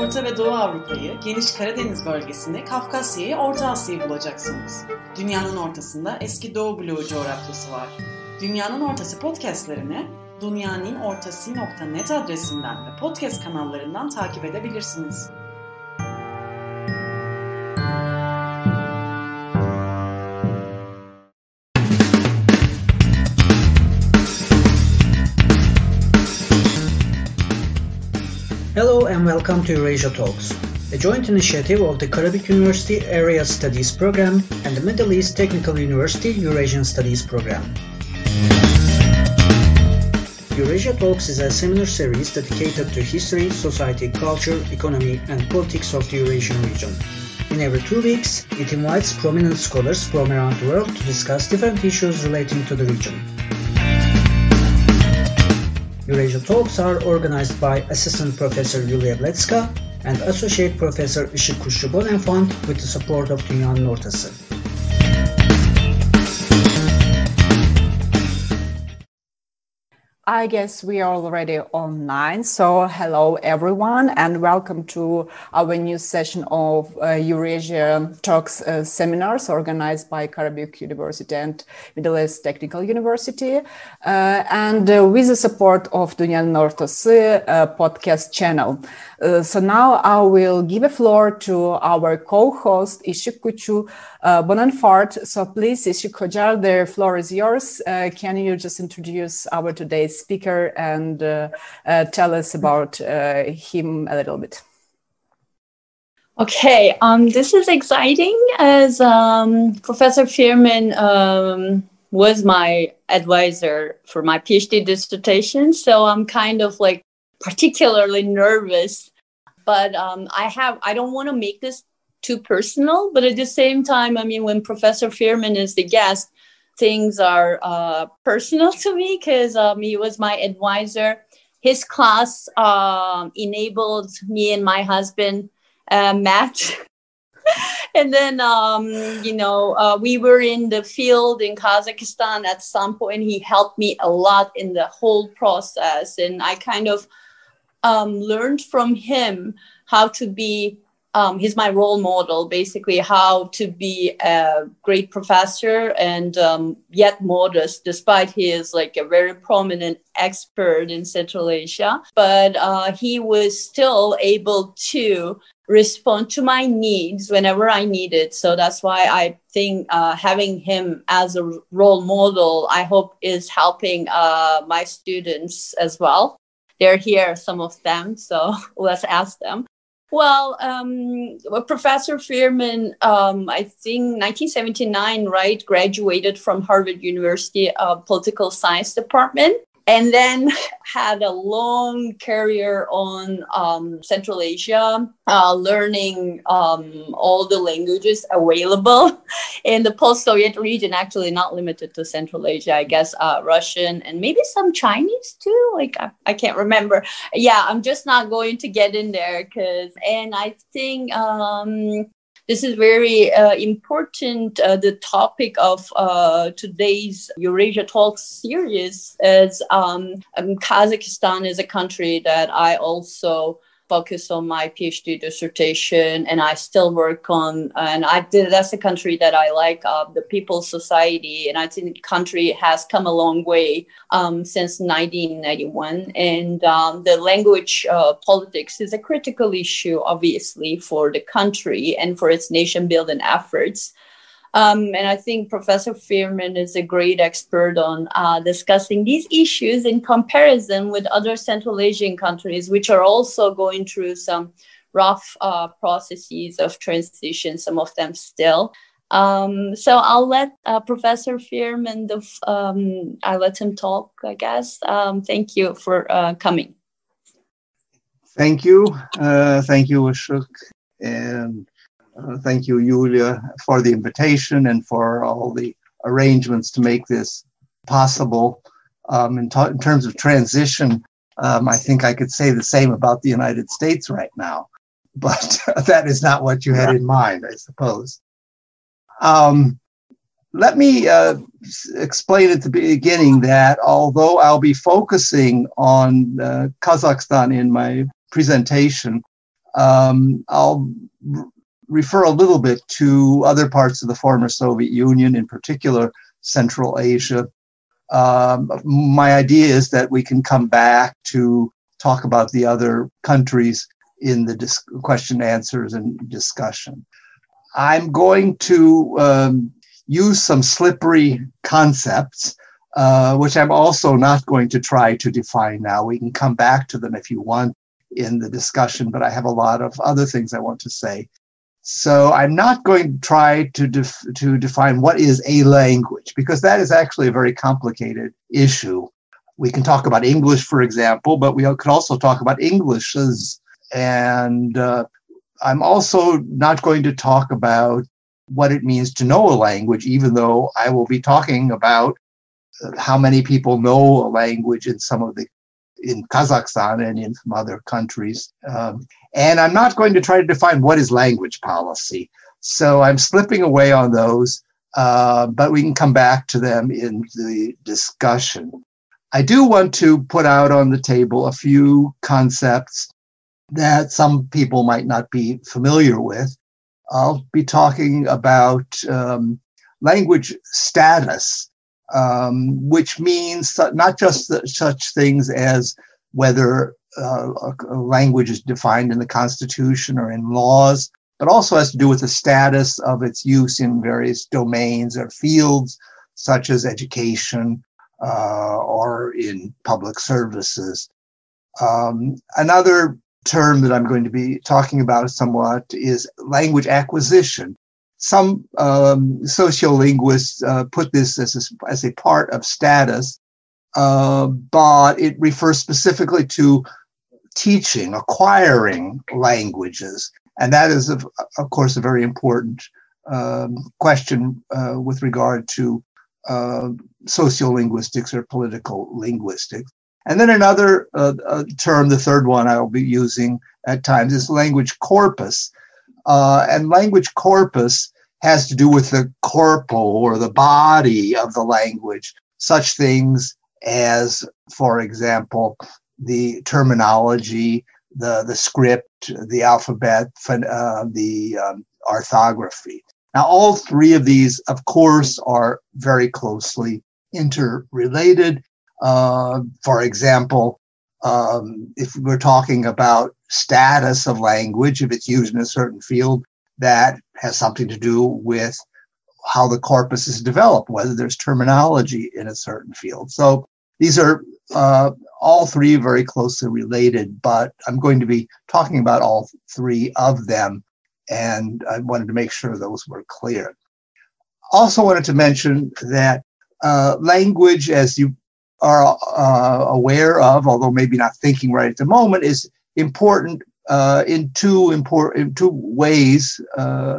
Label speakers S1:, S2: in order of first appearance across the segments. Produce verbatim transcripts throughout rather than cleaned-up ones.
S1: Orta ve Doğu Avrupa'yı, geniş Karadeniz bölgesinde Kafkasya'yı, Orta Asya'yı bulacaksınız. Dünyanın ortasında eski Doğu bloğu coğrafyası var. Dünyanın Ortası podcastlerini dunyaninnortası nokta net adresinden ve podcast kanallarından takip edebilirsiniz.
S2: Hello and welcome to Eurasia Talks, a joint initiative of the Karabük University Area Studies Program and the Middle East Technical University Eurasian Studies Program. Eurasia Talks is a seminar series dedicated to history, society, culture, economy and politics of the Eurasian region. In every two weeks, it invites prominent scholars from around the world to discuss different issues relating to the region. Eurasia Talks are organized by Assistant Professor Yulia Bletska and Associate Professor Işık Kuşçu Bonenfant with the support of Dünyanın Ortası.
S3: I guess we are already online. So hello everyone and welcome to our new session of uh, Eurasia Talks uh, seminars organized by Karabük University and Middle East Technical University uh, and uh, with the support of Dünyanın Ortası uh, podcast channel. Uh, so now I will give a floor to our co-host Işık Kuşçu uh, Bonenfant. So please Işık Hoca, the floor is yours. Uh, can you just introduce our today's speaker and uh, uh, tell us about uh, him a little bit?
S4: Okay, um, this is exciting as um, Professor Firmin um, was my advisor for my PhD dissertation. So I'm kind of like particularly nervous, but um, I have, I don't want to make this too personal, but at the same time, I mean, when Professor Firmin is the guest, things are uh, personal to me because um, he was my advisor. His class um, enabled me and my husband uh, met. And then, um, you know, uh, we were in the field in Kazakhstan at some point. He helped me a lot in the whole process. And I kind of um, learned from him how to be Um, he's my role model, basically, how to be a great professor and um, yet modest, despite he is like a very prominent expert in Central Asia. But uh, he was still able to respond to my needs whenever I needed. So that's why I think uh, having him as a role model, I hope is helping uh, my students as well. They're here, some of them, so let's ask them. Well, um, Professor Firmin, um, I think nineteen seventy-nine, right, graduated from Harvard University uh, Political Science Department, and then had a long career on um, Central Asia, uh, learning um, all the languages available in the post-Soviet region, actually not limited to Central Asia, I guess, uh, Russian and maybe some Chinese too. Like, I, I can't remember. Yeah, I'm just not going to get in there because, and I think um, this is very uh, important, uh, the topic of uh, today's Eurasia Talks series is um, um, Kazakhstan is a country that I also focus on my PhD dissertation and I still work on, and I did, that's a country that I like, uh, the People's Society, and I think the country has come a long way um, since nineteen ninety-one, and um, the language uh, politics is a critical issue, obviously, for the country and for its nation building efforts. Um, and I think Professor Firmin is a great expert on uh, discussing these issues in comparison with other Central Asian countries, which are also going through some rough uh, processes of transition, some of them still. Um, so I'll let uh, Professor Firmin, the, um, I'll let him talk, I guess. Um, thank you for uh, coming.
S5: Thank you. Uh, thank you, Işık. And Uh, thank you, Yulia, for the invitation and for all the arrangements to make this possible. Um, in, in terms of transition, um, I think I could say the same about the United States right now, but that is not what you had in mind, I suppose. Um, let me uh, explain at the beginning that although I'll be focusing on uh, Kazakhstan in my presentation, Um, I'll r- refer a little bit to other parts of the former Soviet Union, in particular Central Asia. Um, my idea is that we can come back to talk about the other countries in the dis- question, answers, and discussion. I'm going to um, use some slippery concepts, uh, which I'm also not going to try to define now. We can come back to them if you want in the discussion, but I have a lot of other things I want to say. So I'm not going to try to def- to define what is a language, because that is actually a very complicated issue. We can talk about English, for example, but we could also talk about Englishes. And uh, I'm also not going to talk about what it means to know a language, even though I will be talking about how many people know a language in some of the, in Kazakhstan and in some other countries. Um, and I'm not going to try to define what is language policy. So I'm slipping away on those, uh, but we can come back to them in the discussion. I do want to put out on the table a few concepts that some people might not be familiar with. I'll be talking about um, language status, um, which means not just the, such things as whether uh, a language is defined in the Constitution or in laws, but also has to do with the status of its use in various domains or fields, such as education uh, or in public services. Um, another term that I'm going to be talking about somewhat is language acquisition. Some um, sociolinguists uh, put this as a, as a part of status, uh, but it refers specifically to teaching, acquiring languages. And that is, of, of course, a very important um, question uh, with regard to uh, sociolinguistics or political linguistics. And then another uh, uh, term, the third one I'll be using at times, is language corpus. Uh, and language corpus has to do with the corpus or the body of the language, such things as, for example, the terminology, the, the script, the alphabet, uh, the um, orthography. Now, all three of these, of course, are very closely interrelated. Uh, for example, um, if we're talking about status of language, if it's used in a certain field, that has something to do with how the corpus is developed, whether there's terminology in a certain field. So these are uh, all three very closely related, but I'm going to be talking about all three of them, and I wanted to make sure those were clear. Also wanted to mention that uh, language, as you are uh, aware of, although maybe not thinking right at the moment, is important uh, in two important in two ways, uh,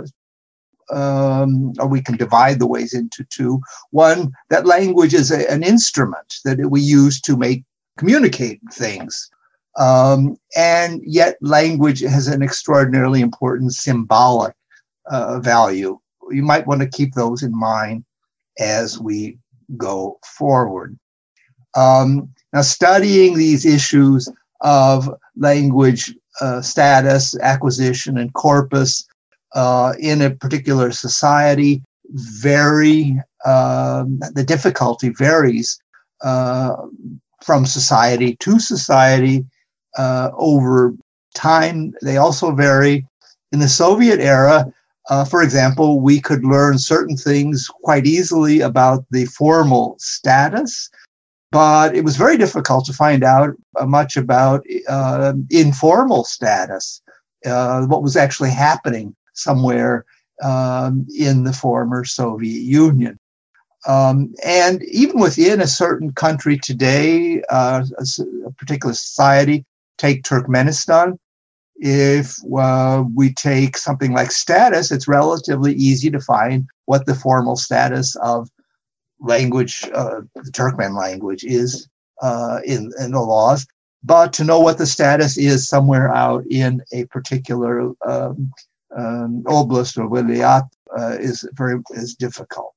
S5: um, or we can divide the ways into two. One, that language is a, an instrument that we use to make communicate things, um, and yet language has an extraordinarily important symbolic uh, value. You might want to keep those in mind as we go forward. Um, now, studying these issues of language uh, status, acquisition, and corpus uh, in a particular society vary, um, the difficulty varies uh, from society to society uh, over time. They also vary. In the Soviet era, uh, for example, we could learn certain things quite easily about the formal status, but it was very difficult to find out uh, much about uh, informal status, uh, what was actually happening somewhere um, in the former Soviet Union. Um, and even within a certain country today, uh, a, a particular society, take Turkmenistan, if uh, we take something like status, it's relatively easy to find what the formal status of language, uh, the Turkmen language, is uh, in, in the laws. But to know what the status is somewhere out in a particular um, um, oblast or vilayat uh, is very is difficult.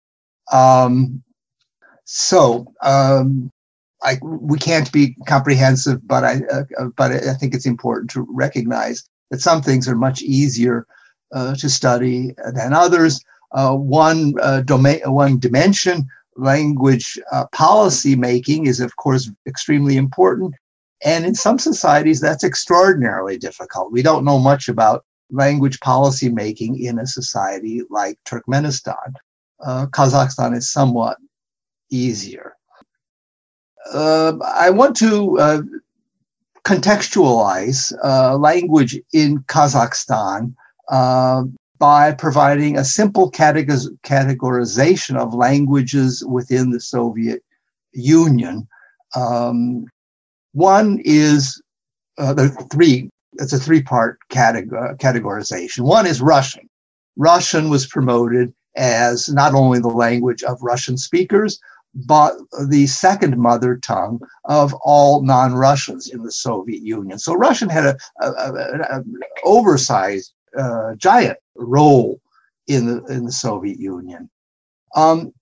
S5: Um, so um, I, we can't be comprehensive, but I uh, but I think it's important to recognize that some things are much easier uh, to study than others. Uh, one uh, domain, one dimension, language uh, policy making, is of course extremely important. And in some societies, that's extraordinarily difficult. We don't know much about language policy making in a society like Turkmenistan. Uh, Kazakhstan is somewhat easier. Uh, I want to uh, contextualize uh, language in Kazakhstan uh, by providing a simple categor- categorization of languages within the Soviet Union. Um, one is, uh, there are three, it's a three-part categor- categorization. One is Russian. Russian was promoted as not only the language of Russian speakers, but the second mother tongue of all non-Russians in the Soviet Union. So Russian had a, a, a, a oversized, uh, giant role in the in the Soviet Union. Um,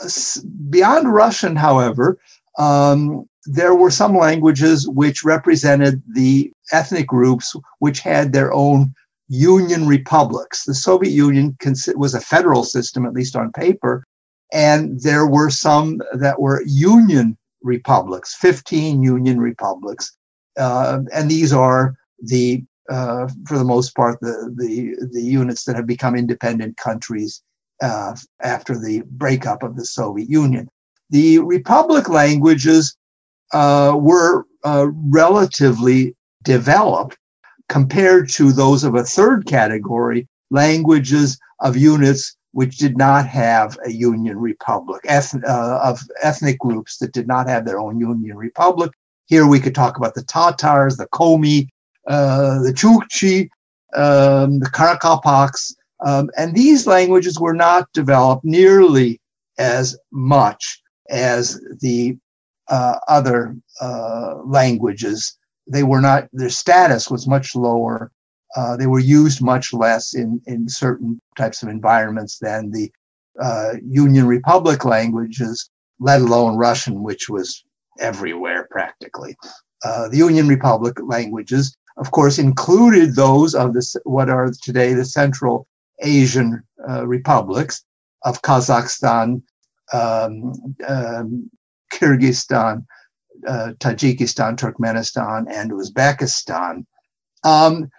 S5: beyond Russian, however, um, there were some languages which represented the ethnic groups which had their own union republics. The Soviet Union was a federal system, at least on paper, and there were some that were union republics, fifteen union republics. Uh, and these are the, uh, for the most part, the, the, the units that have become independent countries uh, after the breakup of the Soviet Union. The republic languages uh, were uh, relatively developed compared to those of a third category, languages of units which did not have a union republic, eth- uh, of ethnic groups that did not have their own union republic. Here we could talk about the Tatars, the Komi, uh, the Chukchi, um, the Karakalpaks, um, and these languages were not developed nearly as much as the uh, other uh, languages. They were not, their status was much lower. Uh, they were used much less in, in certain types of environments than the uh, Union Republic languages, let alone Russian, which was everywhere practically. Uh, the Union Republic languages, of course, included those of the, what are today the Central Asian uh, republics of Kazakhstan, um, um, Kyrgyzstan, uh, Tajikistan, Turkmenistan, and Uzbekistan. Um,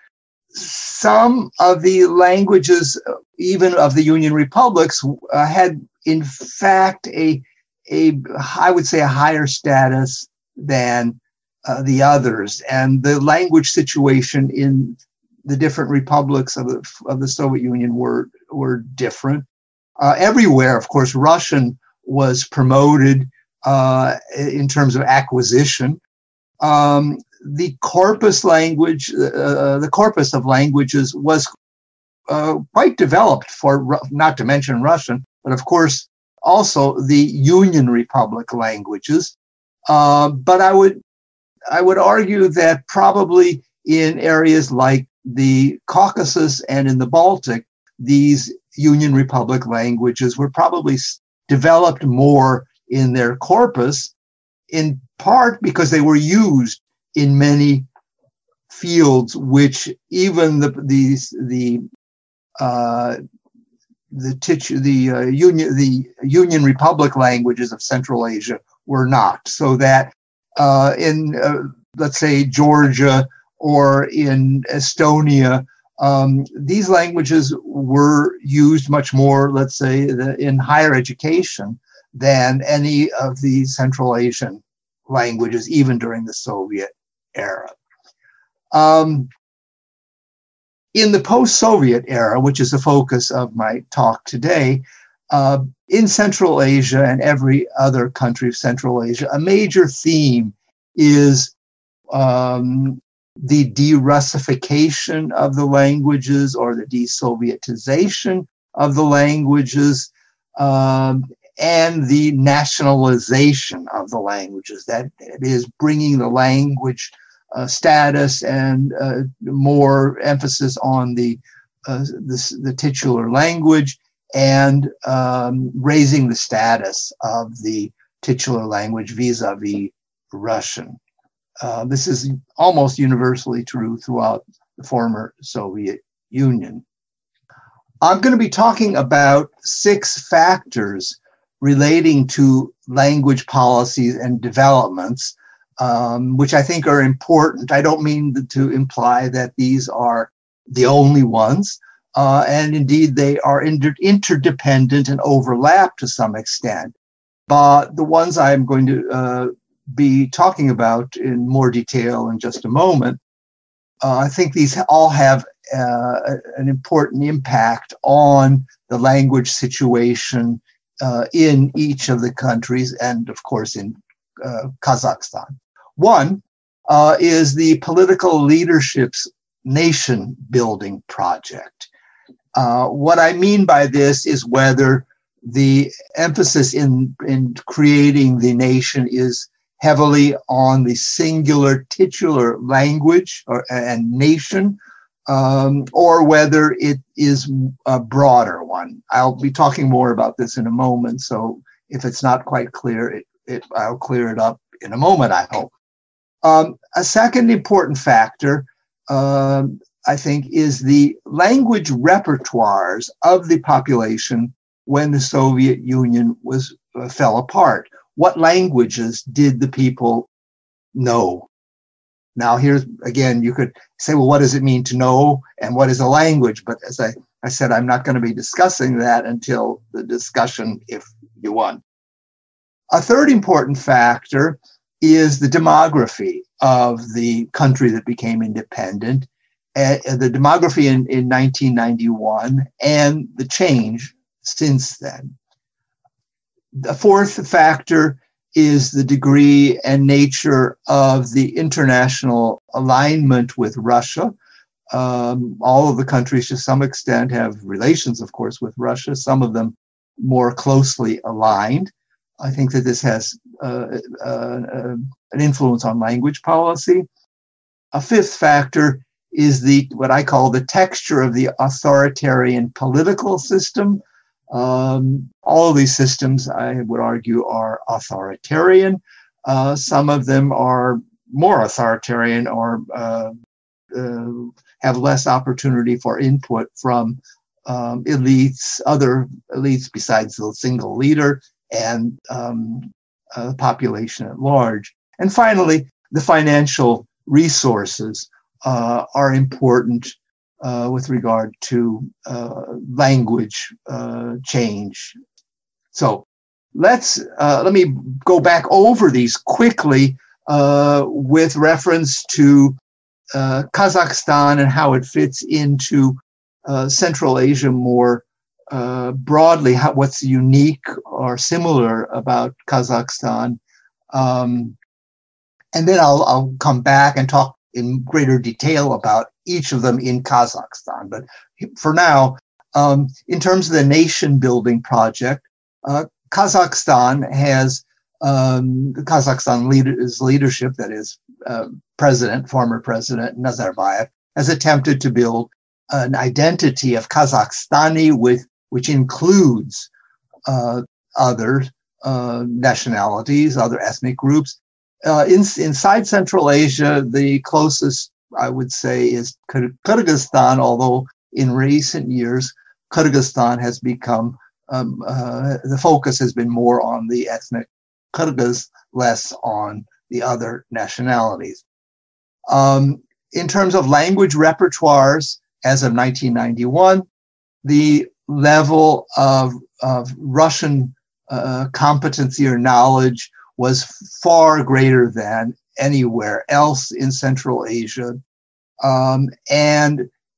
S5: Some of the languages, even of the Union republics, uh, had in fact a, a, I would say, a higher status than uh, the others, and the language situation in the different republics of the of the Soviet Union were were different. Uh, everywhere, of course, Russian was promoted uh, in terms of acquisition. Um, The corpus language, uh, the corpus of languages was uh, quite developed for, not to mention Russian, but of course also the Union Republic languages. Uh, but I would, I would argue that probably in areas like the Caucasus and in the Baltic, these Union Republic languages were probably developed more in their corpus, in part because they were used in many fields, which even the these the uh, the titu- the uh, union the Union Republic languages of Central Asia were not. So that uh, in uh, let's say Georgia or in Estonia, um, these languages were used much more, let's say, the, in higher education than any of the Central Asian languages, even during the Soviet era. Um, in the post-Soviet era, which is the focus of my talk today, uh, in Central Asia and every other country of Central Asia, a major theme is um, the de-Russification of the languages, or the de-Sovietization of the languages, um, and the nationalization of the languages. That is, bringing the language uh, status and uh, more emphasis on the, uh, the the titular language, and um, raising the status of the titular language vis-a-vis Russian. Uh, this is almost universally true throughout the former Soviet Union. I'm going to be talking about six factors relating to language policies and developments, um, which I think are important. I don't mean to imply that these are the only ones, uh, and indeed they are inter- interdependent and overlap to some extent. But the ones I'm going to uh, be talking about in more detail in just a moment, uh, I think these all have uh, an important impact on the language situation uh, in each of the countries and, of course, in uh, Kazakhstan. One uh, is the political leadership's nation-building project. Uh, what I mean by this is whether the emphasis in, in creating the nation is heavily on the singular titular language or, and nation, um, or whether it is a broader one. I'll be talking more about this in a moment, so if it's not quite clear, it, it, I'll clear it up in a moment, I hope. Um, a second important factor, uh, I think, is the language repertoires of the population when the Soviet Union was uh, fell apart. What languages did the people know? Now, here's, again, you could say, well, what does it mean to know and what is a language? But as I, I said, I'm not going to be discussing that until the discussion, if you want. A third important factor is the demography of the country that became independent, uh, the demography in, in nineteen ninety-one and the change since then. The fourth factor is the degree and nature of the international alignment with Russia. Um, all of the countries, to some extent, have relations, of course, with Russia, some of them more closely aligned. I think that this has uh, uh, uh, an influence on language policy. A fifth factor is the what I call the texture of the authoritarian political system. Um, all of these systems, I would argue, are authoritarian. Uh, some of them are more authoritarian or uh, uh, have less opportunity for input from um, elites, other elites besides the single leader, and um, uh, the population at large. And finally, the financial resources uh, are important Uh, with regard to uh, language uh, change. So let's uh, let me go back over these quickly uh, with reference to uh, Kazakhstan and how it fits into uh, Central Asia more uh, broadly. How, what's unique or similar about Kazakhstan, um, and then I'll I'll come back and talk in greater detail about each of them in Kazakhstan. But for now, um, in terms of the nation-building project, uh, Kazakhstan has, um, Kazakhstan leader's leadership, that is, uh, President, former President Nazarbayev, has attempted to build an identity of Kazakhstani with, which includes uh, other uh, nationalities, other ethnic groups. Uh, in, inside Central Asia, the closest, I would say, is Kyrgyzstan, although in recent years, Kyrgyzstan has become, um, uh, the focus has been more on the ethnic Kyrgyz, less on the other nationalities. Um, in terms of language repertoires, as of nineteen ninety-one, the level of, of Russian uh, competency or knowledge was far greater than anywhere else in Central Asia. Um, and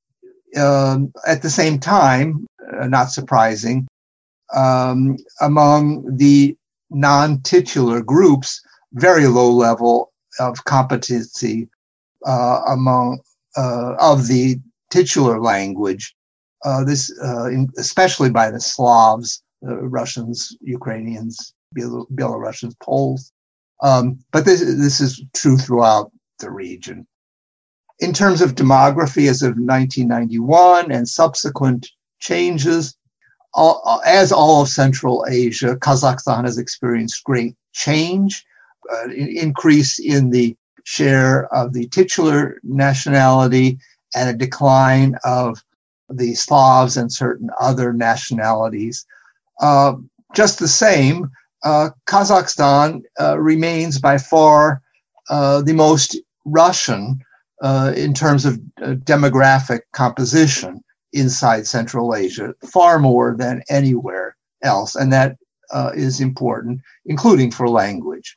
S5: um, at the same time, uh, not surprising, um, among the non-titular groups, very low level of competency uh, among uh, of the titular language. Uh, this, uh, in, especially by the Slavs, uh, Russians, Ukrainians, Belarusians, Poles. Um, but this, this is true throughout the region. In terms of demography, as of nineteen ninety-one and subsequent changes, all, as all of Central Asia, Kazakhstan has experienced great change, uh, increase in the share of the titular nationality, and a decline of the Slavs and certain other nationalities. Uh, just the same, uh, Kazakhstan uh, remains by far uh, the most Russian uh, in terms of uh, demographic composition inside Central Asia, far more than anywhere else. And that uh, is important, including for language.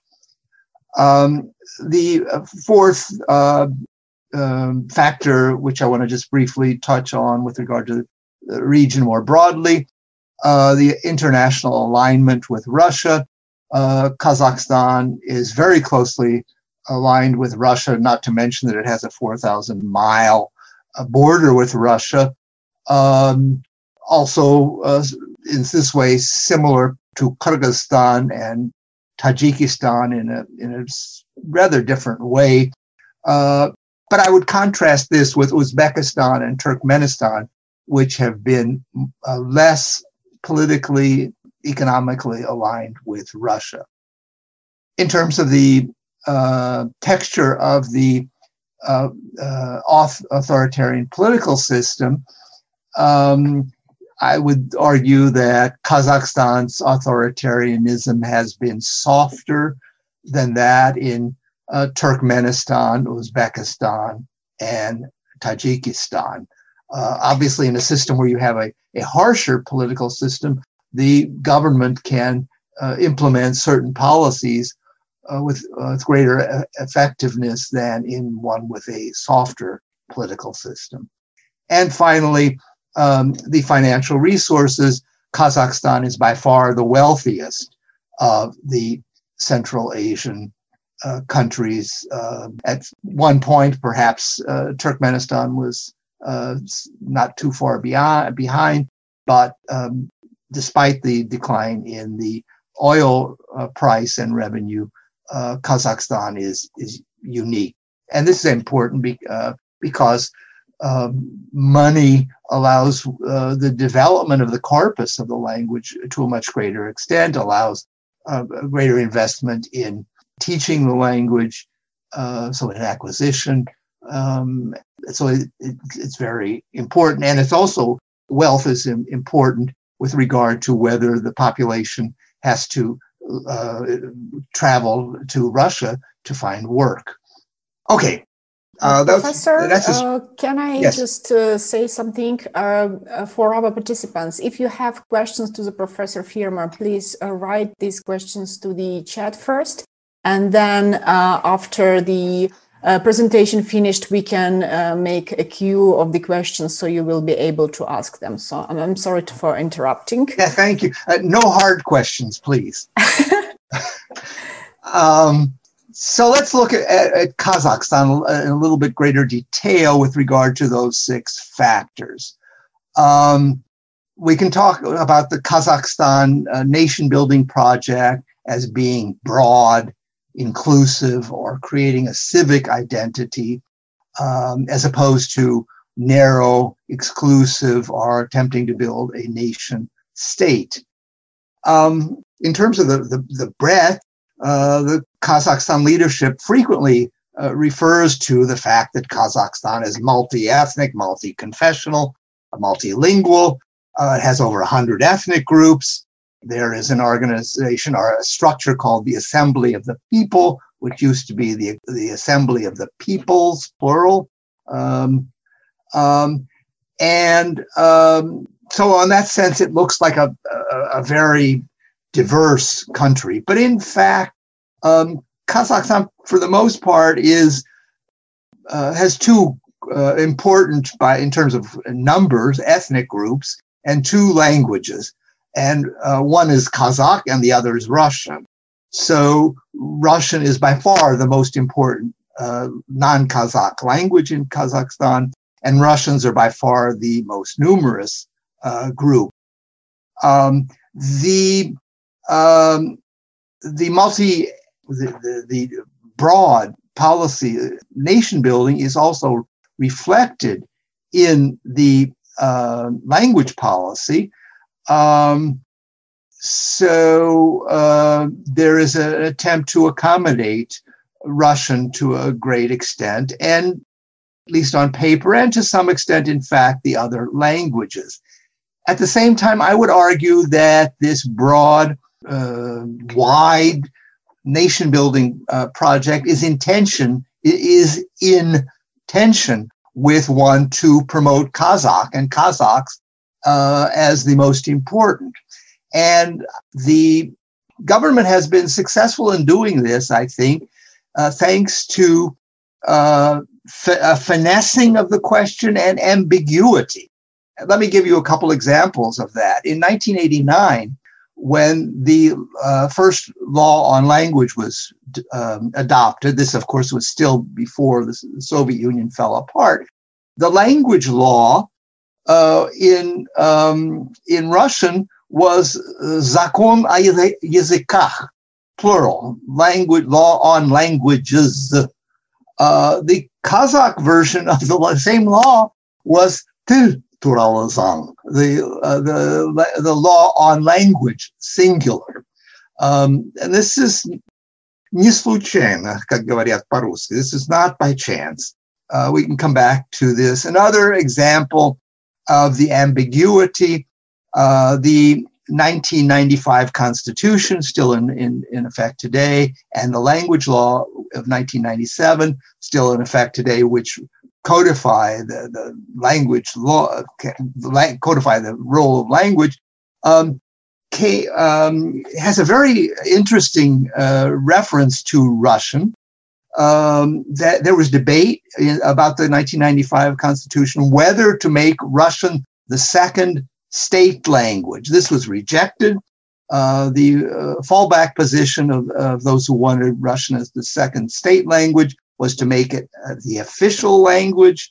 S5: Um, the fourth uh, um, factor, which I want to just briefly touch on with regard to the region more broadly, uh, the international alignment with Russia. Uh, Kazakhstan is very closely aligned with Russia, not to mention that it has a four thousand mile uh, border with Russia. Um, also, uh, in this way, similar to Kyrgyzstan and Tajikistan in a, in a rather different way. Uh, but I would contrast this with Uzbekistan and Turkmenistan, which have been uh, less politically, economically aligned with Russia. In terms of the uh, texture of the uh, uh, authoritarian political system, um, I would argue that Kazakhstan's authoritarianism has been softer than that in uh, Turkmenistan, Uzbekistan, and Tajikistan. Uh, obviously, in a system where you have a, a harsher political system, the government can uh, implement certain policies uh, with, uh, with greater uh, effectiveness than in one with a softer political system. And finally, um, the financial resources. Kazakhstan is by far the wealthiest of the Central Asian uh, countries. Uh, at one point, perhaps uh, Turkmenistan was uh, not too far beyond, behind, but um, despite the decline in the oil uh, price and revenue, uh, Kazakhstan is, is unique. And this is important be, uh, because um, money allows uh, the development of the corpus of the language to a much greater extent, allows uh, a greater investment in teaching the language, uh, so in acquisition. Um, so it, it, it's very important. And it's also, wealth is important with regard to whether the population has to uh, travel to Russia to find work. Okay.
S3: Uh, Professor, that's just, uh, can I
S5: yes.
S3: just uh, say something uh, for our participants? If you have questions to the Professor Firma, please uh, write these questions to the chat first. And then uh, after the uh, presentation finished, we can uh, make a queue of the questions so you will be able to ask them. So I'm, I'm sorry to, for interrupting.
S5: Yeah, thank you. Uh, no hard questions, please. um, So let's look at, at Kazakhstan in a little bit greater detail with regard to those six factors. Um, we can talk about the Kazakhstan uh, nation-building project as being broad, inclusive, or creating a civic identity, um, as opposed to narrow, exclusive, or attempting to build a nation state. Um, in terms of the, the, the breadth, Uh, the Kazakhstan leadership frequently uh, refers to the fact that Kazakhstan is multi-ethnic, multi-confessional, multilingual. Uh, it has over one hundred ethnic groups. There is an organization or a structure called the Assembly of the People, which used to be the, the Assembly of the Peoples, plural. Um, um, and um, so in that sense, it looks like a, a, a very diverse country. But in fact, um, Kazakhstan, for the most part, is uh, has two uh, important, by in terms of numbers, ethnic groups, and two languages. And uh, one is Kazakh and the other is Russian. So Russian is by far the most important uh, non-Kazakh language in Kazakhstan, and Russians are by far the most numerous uh, group. Um, the Um, the multi, the, the, the broad policy, nation building is also reflected in the uh, language policy. Um, so uh, there is an attempt to accommodate Russian to a great extent. And at least on paper, and to some extent, in fact, the other languages. At the same time, I would argue that this broad, uh, wide nation-building uh, project is in tension, is in tension with one to promote Kazakh and Kazakhs uh, as the most important. And the government has been successful in doing this, I think, uh, thanks to uh, f- a finessing of the question and ambiguity. Let me give you a couple examples of that. In nineteen eighty-nine, when the uh, first law on language was um, adopted, this, of course, was still before the Soviet Union fell apart, the language law uh, in, um, in Russian was Zakon o языках, plural, language, law on languages. Uh, the Kazakh version of the same law was Til туралы заң, the, uh, the, the law on language, singular. Um, and this is не случайно, как говорят по-русски. This is not by chance. Uh, we can come back to this. Another example of the ambiguity, uh, the nineteen ninety-five Constitution, still in, in, in effect today, and the language law of nineteen ninety-seven, still in effect today, which codify the, the language law, codify the role of language, um, K, um, has a very interesting uh, reference to Russian. Um, that there was debate in, about the nineteen ninety-five Constitution, whether to make Russian the second state language. This was rejected. Uh, the uh, fallback position of, of those who wanted Russian as the second state language was to make it uh, the official language,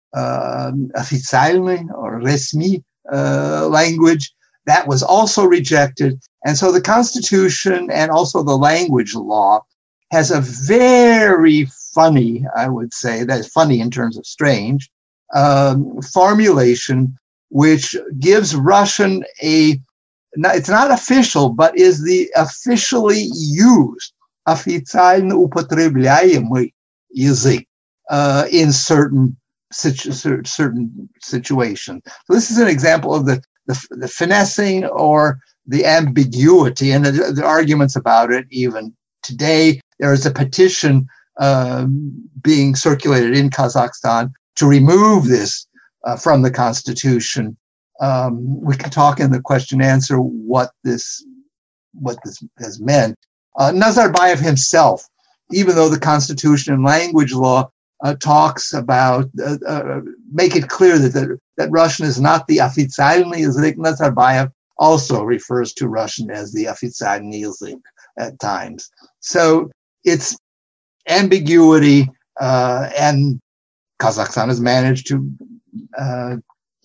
S5: um, официальный or resmi uh, language. That was also rejected. And so the Constitution and also the language law has a very funny, I would say, that's funny in terms of strange, um, formulation, which gives Russian a, it's not official, but is the officially used, официально употребляемый язык uh, in certain, situ- certain situations. So this is an example of the, the, the finessing or the ambiguity and the, the arguments about it even today. There is a petition uh, being circulated in Kazakhstan to remove this uh, from the Constitution. Um, we can talk in the question and answer what this what this has meant. Uh, Nazarbayev himself, even though the Constitution and language law uh, talks about, uh, uh, make it clear that, the, that Russian is not the официальный язык, Nazarbayev also refers to Russian as the официальный язык at times. So it's ambiguity, uh, and Kazakhstan has managed to uh,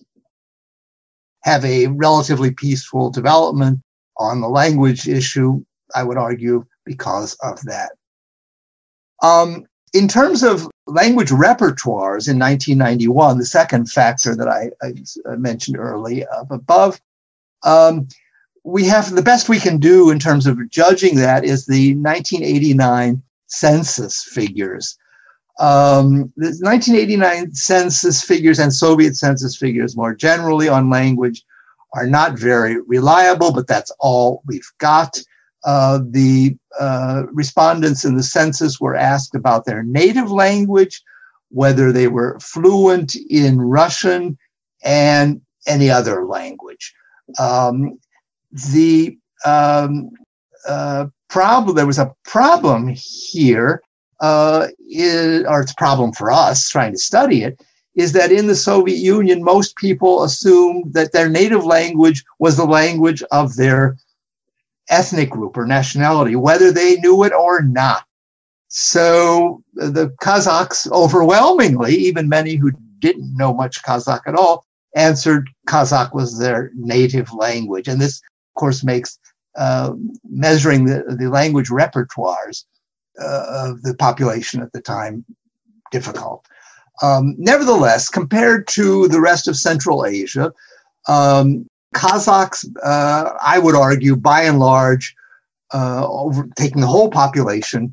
S5: have a relatively peaceful development on the language issue, I would argue, because of that. Um, in terms of language repertoires in nineteen ninety-one, the second factor that I, I mentioned early up above, um, we have the best we can do in terms of judging that is the nineteen eighty-nine census figures. Um, the nineteen eighty-nine census figures and Soviet census figures more generally on language are not very reliable, but that's all we've got. Uh, the uh, respondents in the census were asked about their native language, whether they were fluent in Russian and any other language. Um, the um, uh, problem, there was a problem here, uh, is, or it's a problem for us trying to study it, is that in the Soviet Union, most people assumed that their native language was the language of their ethnic group or nationality, whether they knew it or not. So the Kazakhs overwhelmingly, even many who didn't know much Kazakh at all, answered Kazakh was their native language. And this, of course, makes uh, measuring the, the language repertoires uh, of the population at the time difficult. Um, nevertheless, compared to the rest of Central Asia, um, Kazakhs, uh, I would argue, by and large, uh, over, taking the whole population,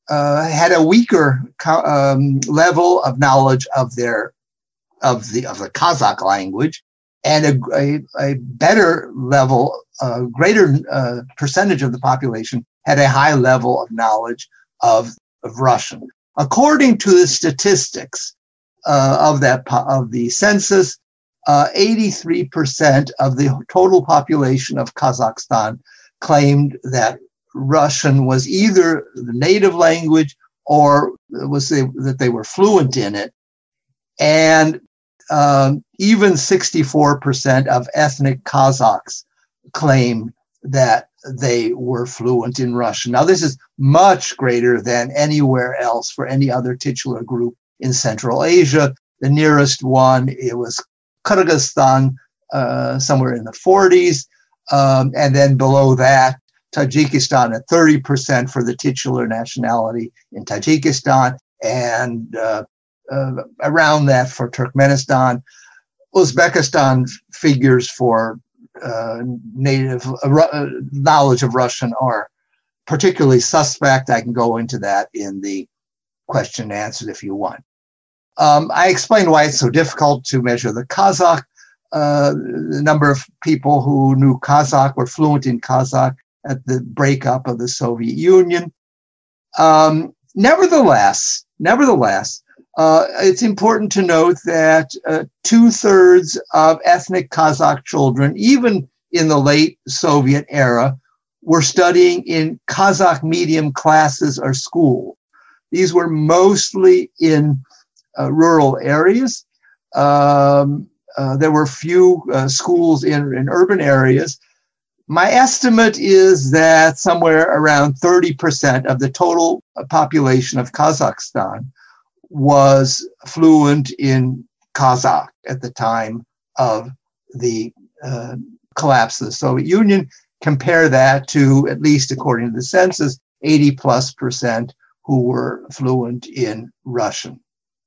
S5: uh, had a weaker um, level of knowledge of their of the of the Kazakh language, and a, a, a better level, a greater uh, percentage of the population had a high level of knowledge of, of Russian. According to the statistics uh, of that of the census, uh, eighty-three percent of the total population of Kazakhstan claimed that Russian was either the native language or was they, that they were fluent in it. And um, even sixty-four percent of ethnic Kazakhs claim that they were fluent in Russian. Now, this is much greater than anywhere else for any other titular group in Central Asia. The nearest one, it was Kyrgyzstan, uh, somewhere in the forties. Um, and then below that, Tajikistan at thirty percent for the titular nationality in Tajikistan, and uh, uh, around that for Turkmenistan. Uzbekistan figures for uh, native uh, knowledge of Russian are particularly suspect. I can go into that in the question and answers if you want. Um, I explained why it's so difficult to measure the Kazakh. Uh, the number of people who knew Kazakh were fluent in Kazakh at the breakup of the Soviet Union. Um, nevertheless, nevertheless, uh, it's important to note that uh, two-thirds of ethnic Kazakh children, even in the late Soviet era, were studying in Kazakh medium classes or schools. These were mostly in uh, rural areas. Um, uh, there were few uh, schools in, in urban areas. My estimate is that somewhere around thirty percent of the total population of Kazakhstan was fluent in Kazakh at the time of the uh, collapse of the Soviet Union. Compare that to, at least according to the census, eighty plus percent who were fluent in Russian.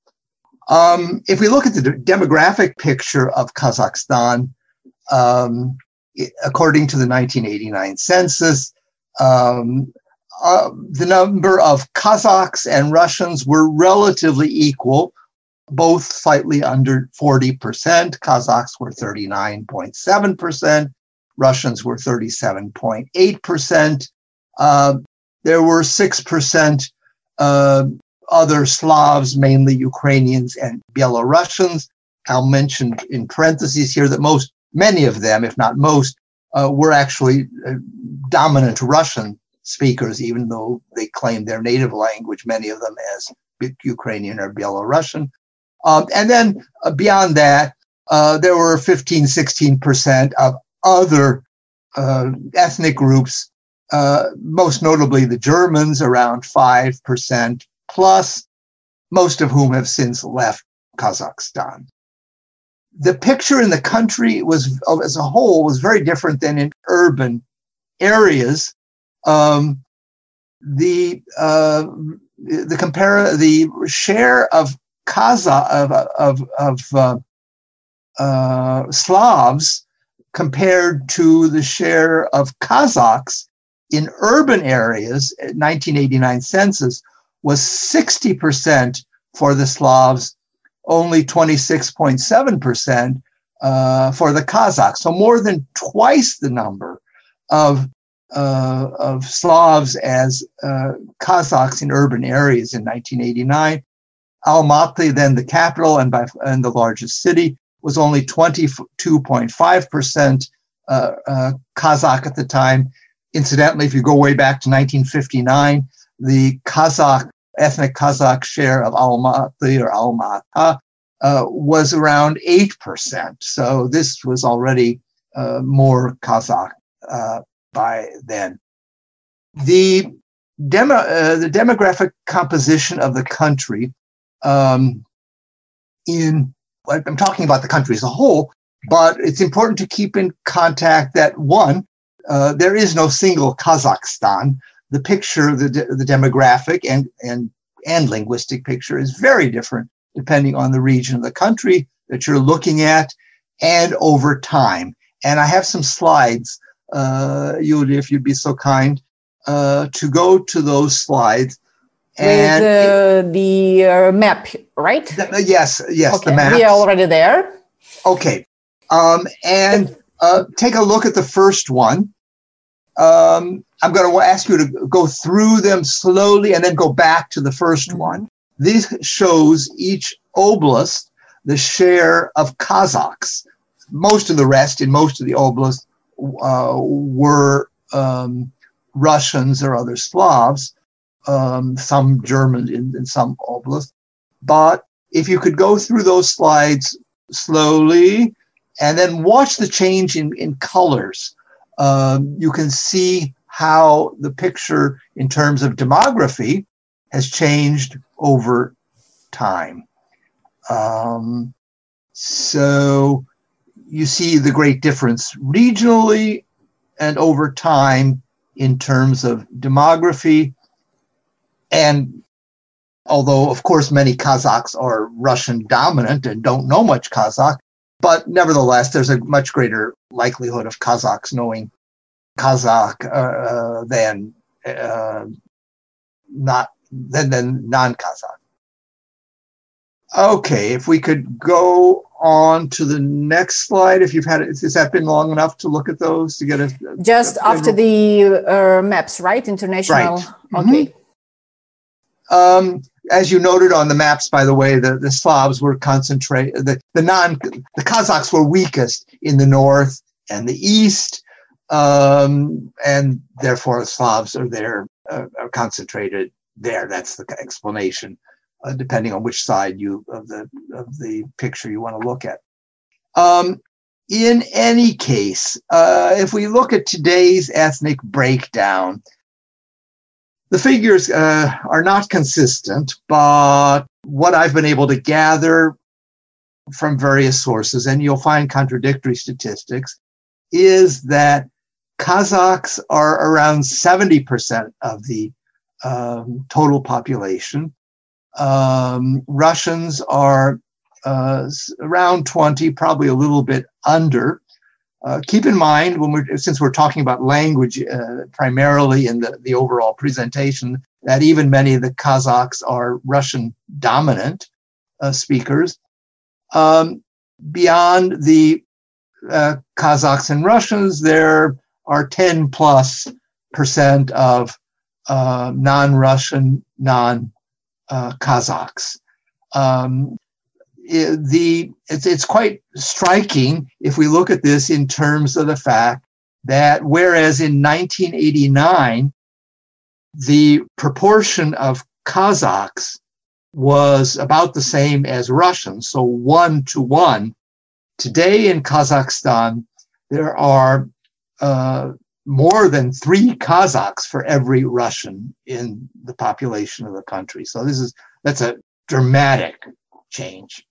S5: Um, if we look at the demographic picture of Kazakhstan, um, according to the nineteen eighty-nine census, um, uh, the number of Kazakhs and Russians were relatively equal, both slightly under forty percent. Kazakhs were thirty-nine point seven percent. Russians were thirty-seven point eight percent. Uh, there were six percent uh, other Slavs, mainly Ukrainians and Belarusians. I'll mention in parentheses here that most, many of them, if not most, uh, were actually uh, dominant Russian speakers, even though they claimed their native language, many of them as Ukrainian or Belarusian. Um, and then uh, beyond that, uh, there were fifteen, sixteen percent of other uh, ethnic groups, uh, most notably the Germans, around five percent plus, most of whom have since left Kazakhstan. The picture in the country was, as a whole, was very different than in urban areas. Um, the uh, the compare the share of Kazakh of of, of uh, uh, Slavs compared to the share of Kazakhs in urban areas, nineteen eighty-nine census, was sixty percent for the Slavs, only twenty-six point seven percent uh, for the Kazakhs. So more than twice the number of, uh, of Slavs as uh, Kazakhs in urban areas in nineteen eighty-nine. Almaty, then the capital and, by, and the largest city, was only twenty-two point five percent uh, uh, Kazakh at the time. Incidentally, if you go way back to nineteen fifty-nine, the Kazakh, ethnic Kazakh share of Almaty or Almata uh, was around eight percent. So this was already uh, more Kazakh uh, by then. The, demo, uh, the demographic composition of the country um, in, I'm talking about the country as a whole, but it's important to keep in contact that, one, uh, there is no single Kazakhstan. The picture, the, de the demographic and, and, and linguistic picture is very different depending on the region of the country that you're looking at and over time. And I have some slides, uh, Yulia, if you'd be so kind, uh, to go to those slides
S3: And with uh, the uh, map, right?
S5: The, yes, yes,
S3: okay.
S5: the map.
S3: We are already there.
S5: Okay. Um, and uh, take a look at the first one. Um, I'm going to ask you to go through them slowly and then go back to the first mm-hmm. one. This shows each oblast the share of Kazakhs. Most of the rest in most of the oblasts uh, were um, Russians or other Slavs, um, some Germans in, in some oblasts. But if you could go through those slides slowly and then watch the change in, in colors, um, you can see how the picture in terms of demography has changed over time. Um, so you see the great difference regionally and over time in terms of demography. And although, of course, many Kazakhs are Russian dominant and don't know much Kazakh, but nevertheless, there's a much greater likelihood of Kazakhs knowing Kazakh uh, than uh, not than, than non-Kazakh. Okay, if we could go on to the next slide, if you've had it, has that been long enough to look at those to get a
S3: just a, after a, the uh, maps, right? International.
S5: Right.
S3: Okay.
S5: Mm-hmm. Um, as you noted on the maps, by the way, the, the Slavs were concentrated. The the non the Kazakhs were weakest in the north and the east, um, and therefore the Slavs are there uh, are concentrated there. That's the explanation. Uh, depending on which side you of the of the picture you want to look at. Um, in any case, uh, if we look at today's ethnic breakdown, the figures uh, are not consistent, but what I've been able to gather from various sources, and you'll find contradictory statistics, is that Kazakhs are around seventy percent of the um, total population. Um, Russians are uh, around twenty, probably a little bit under. Uh, keep in mind, when we're since we're talking about language uh, primarily in the, the overall presentation, that even many of the Kazakhs are Russian dominant uh, speakers. Um, beyond the uh, Kazakhs and Russians, there are ten plus percent of uh, non-Russian, non Uh, Kazakhs. Um, it, the it's it's quite striking if we look at this in terms of the fact that whereas in nineteen eighty-nine the proportion of Kazakhs was about the same as Russians, so one to one, today in Kazakhstan there are uh, more than three Kazakhs for every Russian in the population of the country. So this is, that's a dramatic change.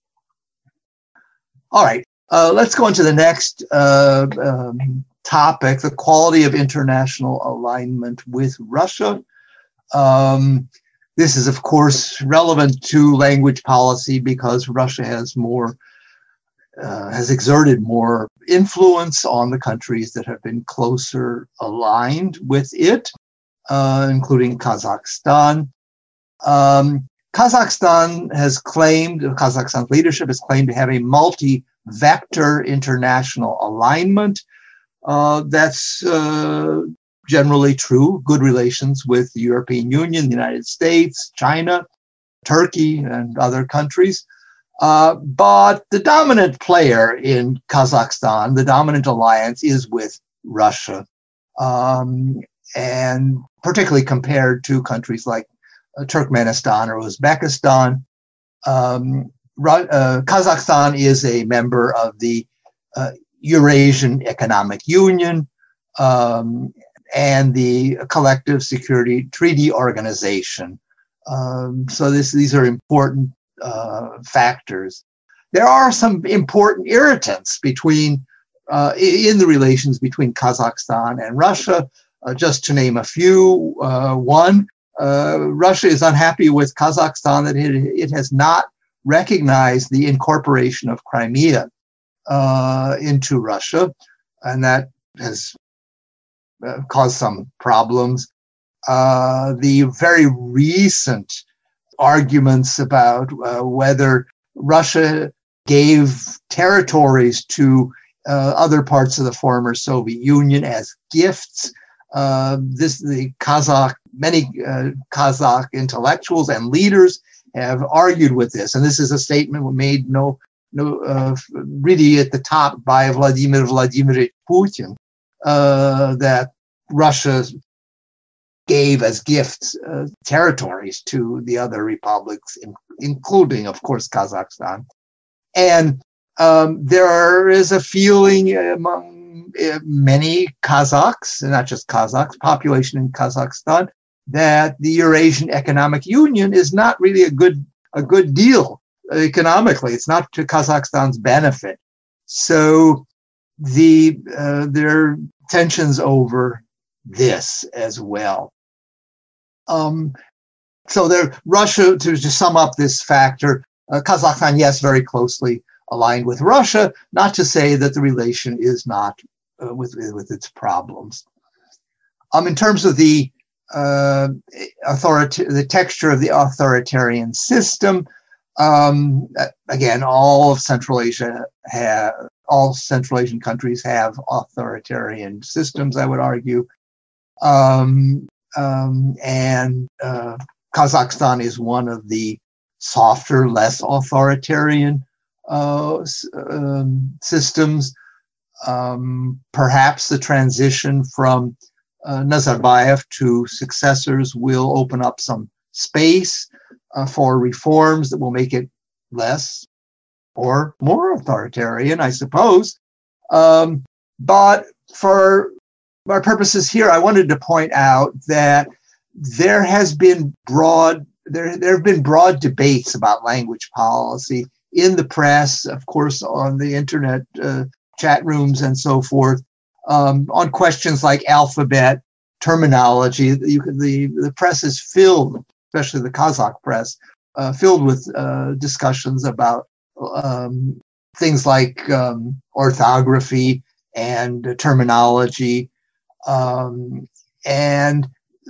S5: All right, uh, let's go into the next uh, um, topic, the quality of international alignment with Russia. Um, this is, of course, relevant to language policy because Russia has more Uh, has exerted more influence on the countries that have been closer aligned with it, uh, including Kazakhstan. Um, Kazakhstan has claimed, Kazakhstan's leadership has claimed to have a multi-vector international alignment. Uh, that's uh, generally true. Good relations with the European Union, the United States, China, Turkey, and other countries. Uh, but the dominant player in Kazakhstan, the dominant alliance, is with Russia, um, and particularly compared to countries like uh, Turkmenistan or Uzbekistan. Um, uh, Kazakhstan is a member of the uh, Eurasian Economic Union um, and the Collective Security Treaty Organization. Um, so this, these are important Uh, factors. There are some important irritants between uh, in the relations between Kazakhstan and Russia. Uh, just to name a few, uh, one, uh, Russia is unhappy with Kazakhstan that it, it has not recognized the incorporation of Crimea uh, into Russia, and that has uh, caused some problems. uh, the very recent arguments about uh, whether Russia gave territories to uh, other parts of the former Soviet Union as gifts. Uh, this the Kazakh, many uh, Kazakh intellectuals and leaders have argued with this, and this is a statement made no, no, uh, really at the top by Vladimir Vladimirovich Putin, uh, that Russia gave as gifts uh, territories to the other republics, in, including, of course, Kazakhstan. And um, there is a feeling among uh, many Kazakhs, and not just Kazakhs, population in Kazakhstan, that the Eurasian Economic Union is not really a good a good deal economically. It's not to Kazakhstan's benefit. So the uh, there are tensions over this as well. Um, so there, Russia, to, to sum up this factor, uh, Kazakhstan, yes, very closely aligned with Russia, not to say that the relation is not uh, with, with its problems. Um, in terms of the uh, authority, the texture of the authoritarian system, um, again, all of Central Asia have, all Central Asian countries have authoritarian systems, I would argue. Um, Um, and uh, Kazakhstan is one of the softer, less authoritarian uh, um, systems. Um, perhaps the transition from uh, Nazarbayev to successors will open up some space uh, for reforms that will make it less or more authoritarian, I suppose. Um, but for our purposes here, I wanted to point out that there has been broad, there, there have been broad debates about language policy in the press, of course, on the internet uh, chat rooms and so forth, um, on questions like alphabet, terminology. You can, the, the press is filled, especially the Kazakh press, uh, filled with uh, discussions about um, things like um, orthography and uh, terminology. Um, and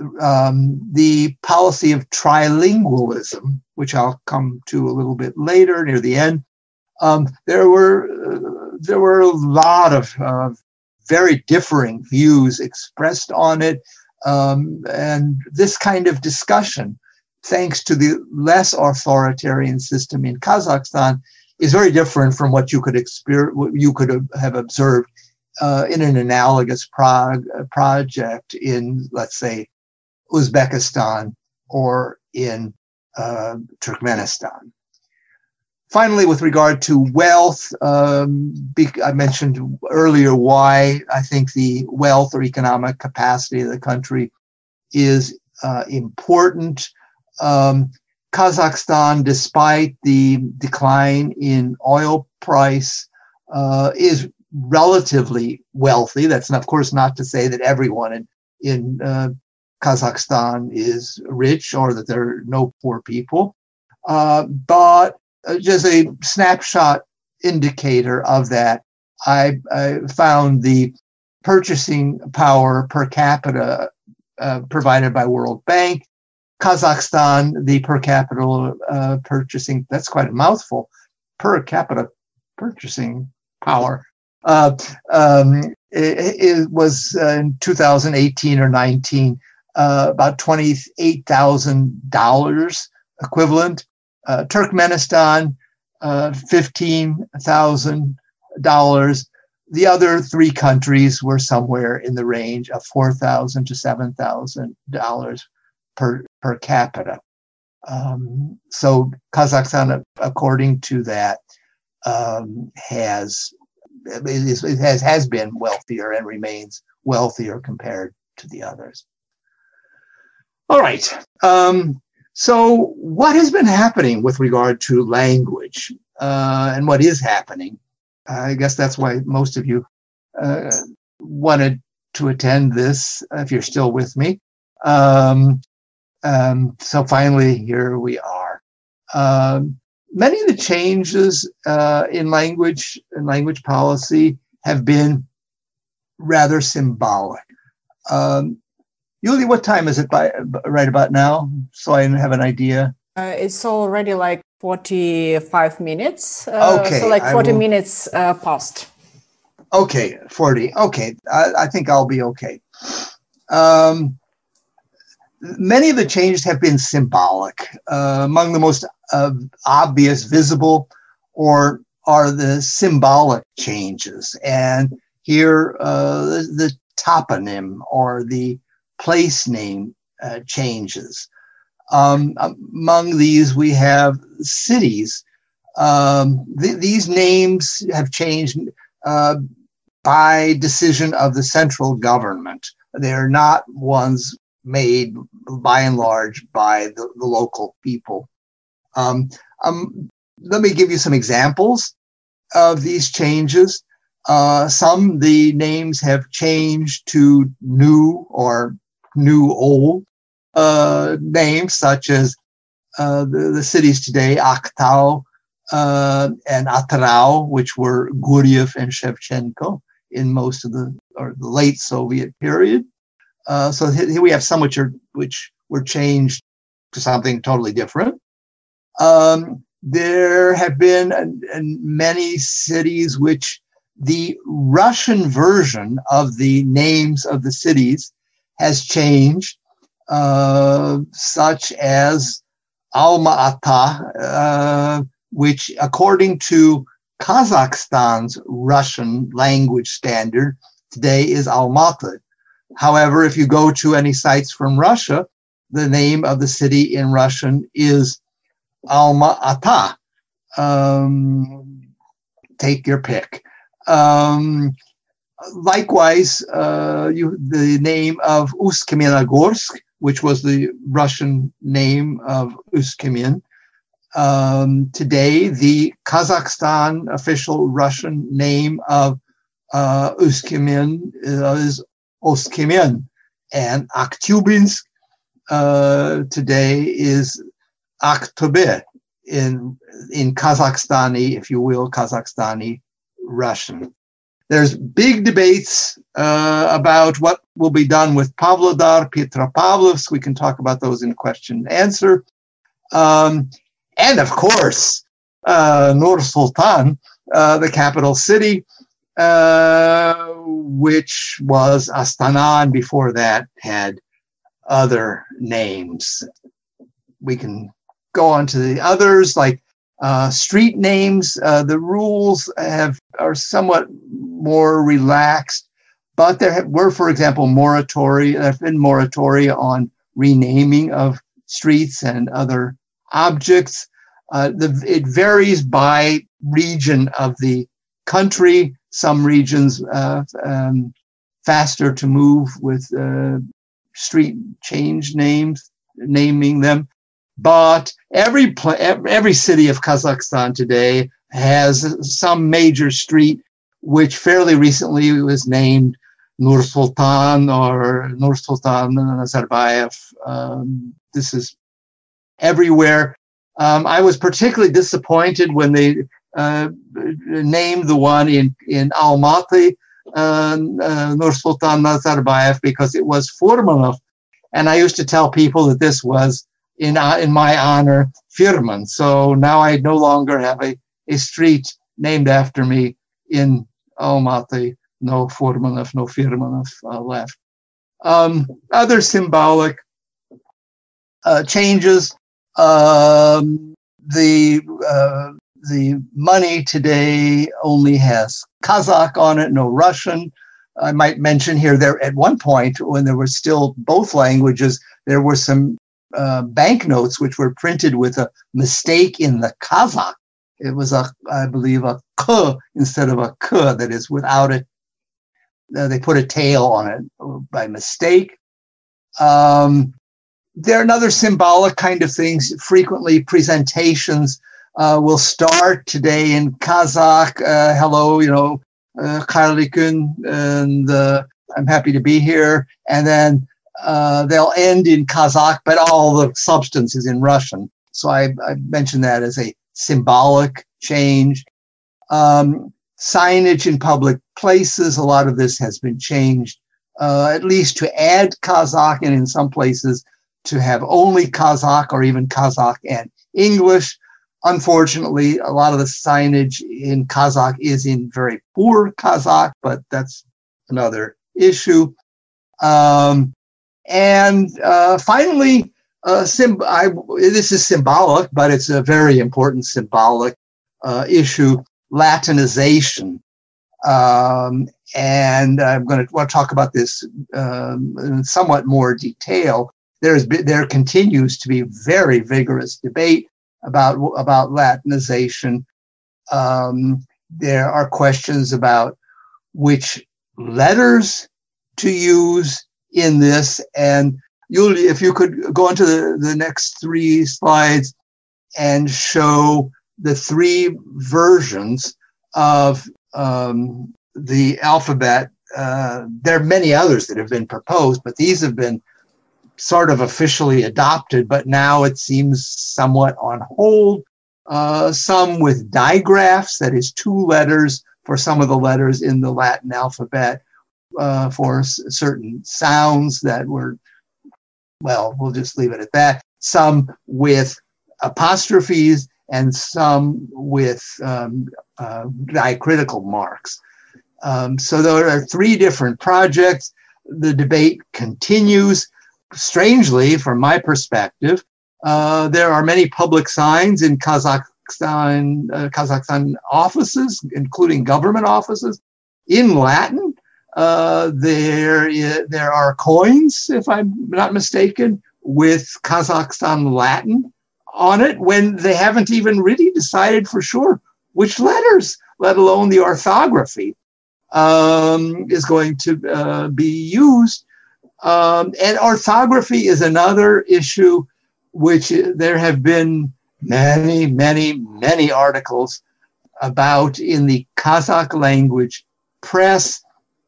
S5: um, the policy of trilingualism, which I'll come to a little bit later near the end, um, there were uh, there were a lot of uh, very differing views expressed on it, um, and this kind of discussion, thanks to the less authoritarian system in Kazakhstan, is very different from what you could experience, what you could have observed Uh, in an analogous prog project in, let's say, Uzbekistan or in uh, Turkmenistan. Finally, with regard to wealth, um, I mentioned earlier why I think the wealth or economic capacity of the country is uh, important. Um, Kazakhstan, despite the decline in oil price, uh, is relatively wealthy. That's, of course, not to say that everyone in, in uh, Kazakhstan is rich or that there are no poor people, uh, but just a snapshot indicator of that. I, I found the purchasing power per capita uh, provided by World Bank. Kazakhstan, the per capita uh, purchasing, that's quite a mouthful, per capita purchasing power. Uh, um, it, it was uh, in two thousand eighteen or nineteen, uh, about twenty-eight thousand dollars equivalent. Uh, Turkmenistan, uh, fifteen thousand dollars. The other three countries were somewhere in the range of four thousand to seven thousand dollars per, per capita. Um, so Kazakhstan, according to that, um, has It has, has been wealthier and remains wealthier compared to the others. All right. Um, so what has been happening with regard to language uh, and what is happening? I guess that's why most of you uh, wanted to attend this, if you're still with me. Um, um, so finally, here we are. Um, Many of the changes uh, in language and language policy have been rather symbolic. Um, Yuli, what time is it by right about now? So I have an idea.
S3: Uh, it's already like forty-five minutes. Uh,
S5: okay.
S3: So like forty
S5: will,
S3: minutes uh, past.
S5: Okay, forty. Okay. I, I think I'll be okay. Um, many of the changes have been symbolic. Uh, among the most uh, obvious, visible, or are the symbolic changes. And here, uh, the, the toponym or the place name uh, changes. Um, among these, we have cities. Um, th- these names have changed uh, by decision of the central government. They're not ones made by and large by the, the local people. Um, um, let me give you some examples of these changes. Uh, some, the names have changed to new or new old uh, names, such as uh, the, the cities today, Aktau uh, and Atrau, which were Guryev and Shevchenko in most of the, or the late Soviet period. Uh, so here we have some which are which were changed to something totally different. Um, there have been uh, many cities which the Russian version of the names of the cities has changed, uh, such as Alma-Ata, uh, which according to Kazakhstan's Russian language standard today is Almaty. However, if you go to any sites from Russia, the name of the city in Russian is Alma-Ata. Um, take your pick. Um, likewise, uh, you, the name of Ust-Kamenogorsk, which was the Russian name of Ust-Kamen. Um, today, the Kazakhstan official Russian name of uh, Ust-Kamen is Ost-Kamen, and Aktyubinsk uh, today is Aktobe in in Kazakhstani, if you will, Kazakhstani Russian. There's big debates uh, about what will be done with Pavlodar, Petropavlovsk. We can talk about those in question and answer. Um, and of course, uh, Nur-Sultan, uh, the capital city, uh, which was Astana, and before that had other names. We can go on to the others, like uh, street names. Uh, the rules have are somewhat more relaxed, but there have, were, for example, moratoria. There have been moratoria on renaming of streets and other objects. Uh, the, it varies by region of the country. Some regions uh, um, faster to move with uh, street change names, naming them. But every pl- every city of Kazakhstan today has some major street which fairly recently was named Nur-Sultan or Nur-Sultan Nazarbayev. Um, this is everywhere. Um, I was particularly disappointed when they uh, named the one in, in Almaty, uh, uh, Nur-Sultan Nazarbayev, because it was Furmanov. And I used to tell people that this was in uh, in my honor, Firman. So now I no longer have a, a street named after me in Almaty. No Furmanov, no Firmanov uh, left. Um, other symbolic uh, changes. Um, the uh, the money today only has Kazakh on it, no Russian. I might mention here there at one point when there were still both languages, there were some uh, banknotes which were printed with a mistake in the Kazakh. It was a, I believe, a K instead of a K, that is without it. Uh, they put a tail on it by mistake. Um, there are another symbolic kind of things. Frequently, presentations uh, will start today in Kazakh. Uh, hello, you know, uh, Kharlikun, and uh, I'm happy to be here. And then uh, they'll end in Kazakh, but all the substance is in Russian. So I, I mentioned that as a symbolic change. Um, signage in public places, a lot of this has been changed uh, at least to add Kazakh, and in some places to have only Kazakh or even Kazakh and English. Unfortunately, a lot of the signage in Kazakh is in very poor Kazakh, but that's another issue. Um, and uh, finally, uh, sim- I, this is symbolic, but it's a very important symbolic uh, issue, Latinization. Um, and I'm going to want to talk about this um, in somewhat more detail. There's there continues to be very vigorous debate about about Latinization. Um, there are questions about which letters to use in this. And Yulia, if you could go into the, the next three slides and show the three versions of um, the alphabet. Uh, there are many others that have been proposed, but these have been sort of officially adopted, but now it seems somewhat on hold. Uh, some with digraphs, that is two letters for some of the letters in the Latin alphabet, uh, for s- certain sounds that were, well, we'll just leave it at that. Some with apostrophes and some with um, uh, diacritical marks. Um, so there are three different projects. The debate continues. Strangely, from my perspective, uh, there are many public signs in Kazakhstan, uh, Kazakhstan offices, including government offices, in Latin. Uh, there, is, there are coins, if I'm not mistaken, with Kazakhstan Latin on it, when they haven't even really decided for sure which letters, let alone the orthography, um, is going to uh, be used. Um, and orthography is another issue which there have been many, many, many articles about in the Kazakh language press.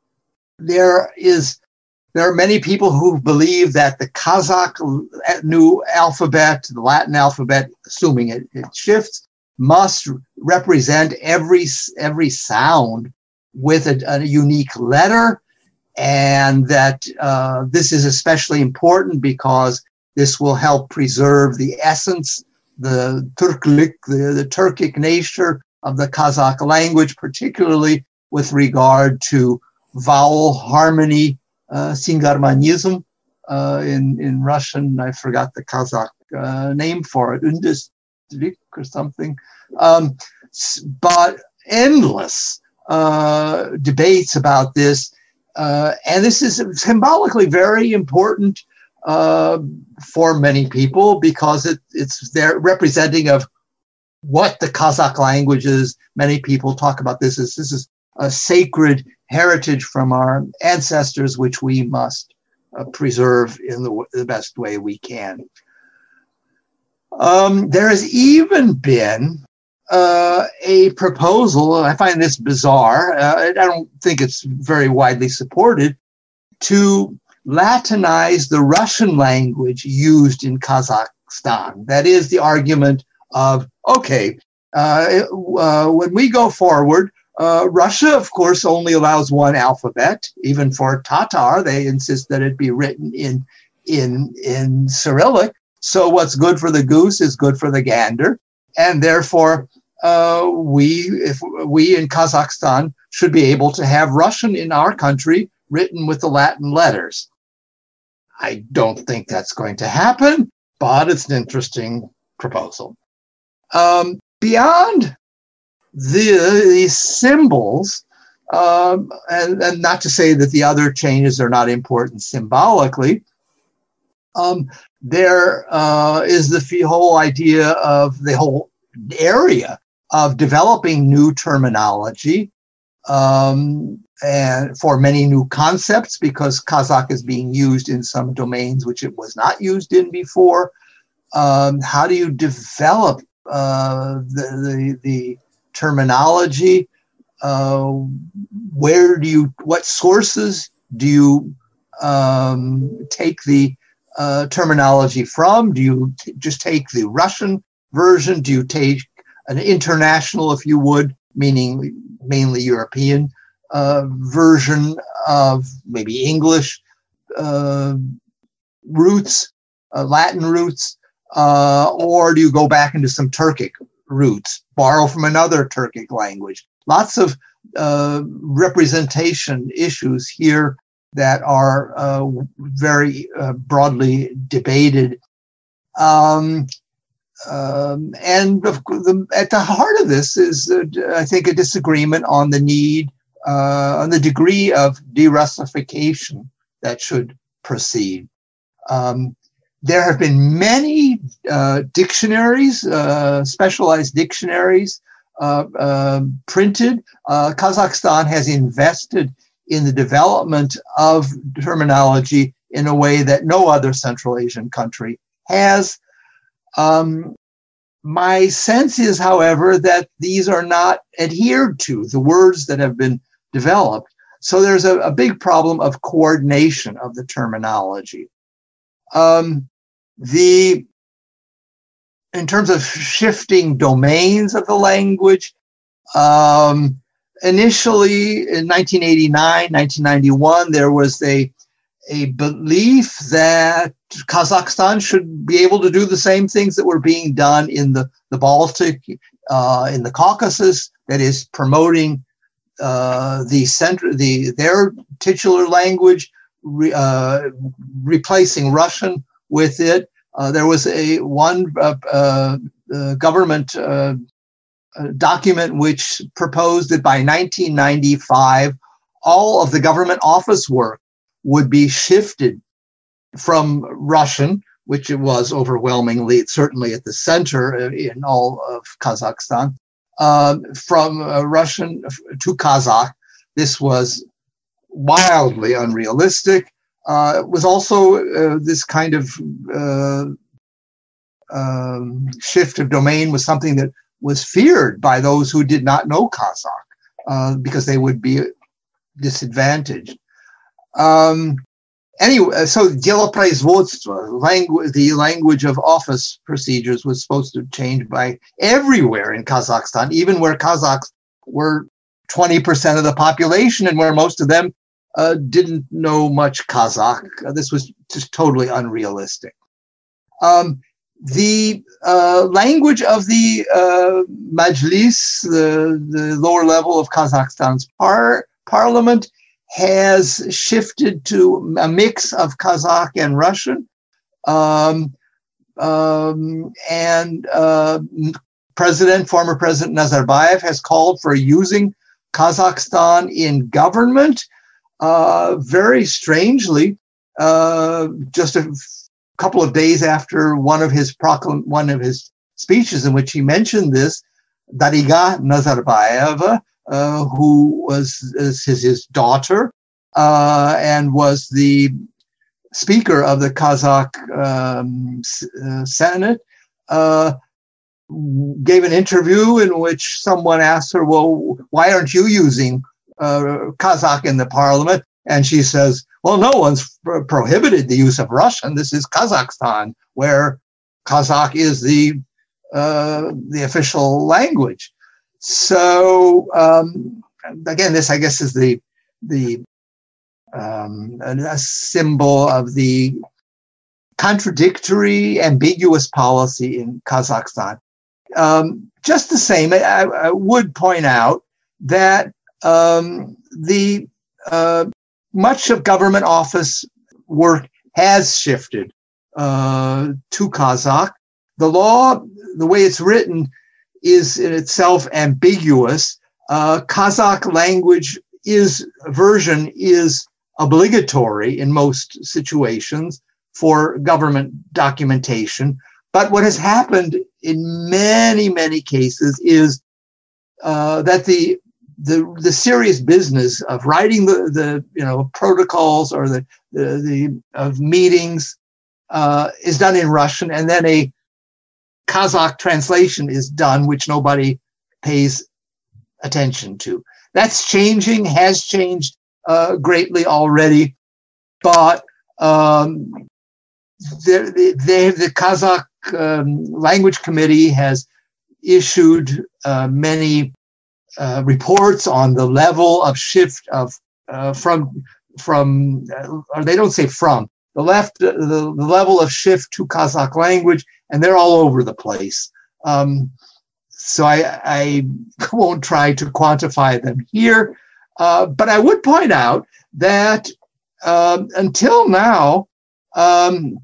S5: There is, there are many people who believe that the Kazakh new alphabet, the Latin alphabet, assuming it, it shifts, must represent every, every sound with a, a unique letter. And that uh, this is especially important because this will help preserve the essence, the Turklik, the, the Turkic nature of the Kazakh language, particularly with regard to vowel harmony, uh, singarmanism, uh, in, in Russian. I forgot the Kazakh uh, name for it, undistrik or something. Um, but endless uh, debates about this. Uh, and this is symbolically very important uh, for many people because it, it's their representing of what the Kazakh language is. Many people talk about this as this is a sacred heritage from our ancestors, which we must uh, preserve in the, the best way we can. Um, there has even been Uh, a proposal, I find this bizarre, uh, I don't think it's very widely supported, to Latinize the Russian language used in Kazakhstan. That is the argument of, okay, uh, uh, when we go forward, uh, Russia, of course, only allows one alphabet. Even for Tatar, they insist that it be written in, in, in Cyrillic. So what's good for the goose is good for the gander. And therefore, uh, we, if we in Kazakhstan should be able to have Russian in our country written with the Latin letters. I don't think that's going to happen, but it's an interesting proposal. Um, beyond the, these symbols, um, and, and not to say that the other changes are not important symbolically, um, there uh, is the whole idea of the whole area of developing new terminology um, and for many new concepts, because Kazakh is being used in some domains which it was not used in before. Um, how do you develop uh, the, the, the terminology? Uh, where do you, what sources do you um, take the uh, terminology from? Do you t- just take the Russian version? Do you take an international, if you would, meaning mainly European uh, version of maybe English uh, roots, uh, Latin roots, uh, or do you go back into some Turkic roots, borrow from another Turkic language? Lots of uh, representation issues here that are uh, very uh, broadly debated. Um, um, and of, the, at the heart of this is, uh, I think, a disagreement on the need, uh, on the degree of de-Russification that should proceed. Um, there have been many uh, dictionaries, uh, specialized dictionaries, uh, uh, printed. Uh, Kazakhstan has invested in the development of terminology in a way that no other Central Asian country has. Um, my sense is, however, that these are not adhered to, the words that have been developed. So there's a, a big problem of coordination of the terminology. Um, the, in terms of shifting domains of the language, um, initially in nineteen eighty-nine, nineteen ninety-one, there was a, a belief that Kazakhstan should be able to do the same things that were being done in the, the Baltic, uh, in the Caucasus, that is promoting uh, the center, the, their titular language, re, uh, replacing Russian with it. Uh, there was a one uh, uh, uh, government uh, document which proposed that by nineteen ninety-five, all of the government office work would be shifted from Russian, which it was overwhelmingly, certainly at the center in all of Kazakhstan, uh, from uh, Russian to Kazakh. This was wildly unrealistic. Uh, it was also uh, this kind of uh, um, shift of domain was something that was feared by those who did not know Kazakh, uh, because they would be disadvantaged. Um, anyway, so делопроизводство, language, the language of office procedures, was supposed to change by everywhere in Kazakhstan, even where Kazakhs were twenty percent of the population and where most of them uh, didn't know much Kazakh. Uh, this was just totally unrealistic. Um, the uh, language of the uh, Majlis, the, the lower level of Kazakhstan's par parliament, has shifted to a mix of Kazakh and Russian. Um, um, and uh, President, former President Nazarbayev has called for using Kazakhstan in government. Uh, very strangely, uh, just a couple of days after one of his proclam one of his speeches in which he mentioned this, Dariga Nazarbayeva, uh, who was is his, his daughter uh, and was the speaker of the Kazakh um, uh, Senate, uh, gave an interview in which someone asked her, well, why aren't you using uh, Kazakh in the parliament? And she says, well, no one's pro prohibited the use of Russian. This is Kazakhstan, where Kazakh is the, uh, the official language. So, um, again, this, I guess, is the, the um, a symbol of the contradictory, ambiguous policy in Kazakhstan. Um, just the same, I, I would point out that um, the uh, much of government office work has shifted uh, to Kazakh. The law, the way it's written, is in itself ambiguous. Uh, Kazakh language is version is obligatory in most situations for government documentation. But what has happened in many, many cases is uh, that the, the the serious business of writing the, the you know protocols or the the, the of meetings uh, is done in Russian, and then a Kazakh translation is done, which nobody pays attention to. That's changing, has changed uh, greatly already, but um, the, the, the Kazakh um, Language Committee has issued uh, many uh, reports on the level of shift of uh, from, from uh, or they don't say from, the left, uh, the, the level of shift to Kazakh language, and they're all over the place. Um, so I, I won't try to quantify them here, uh, but I would point out that um, until now, um,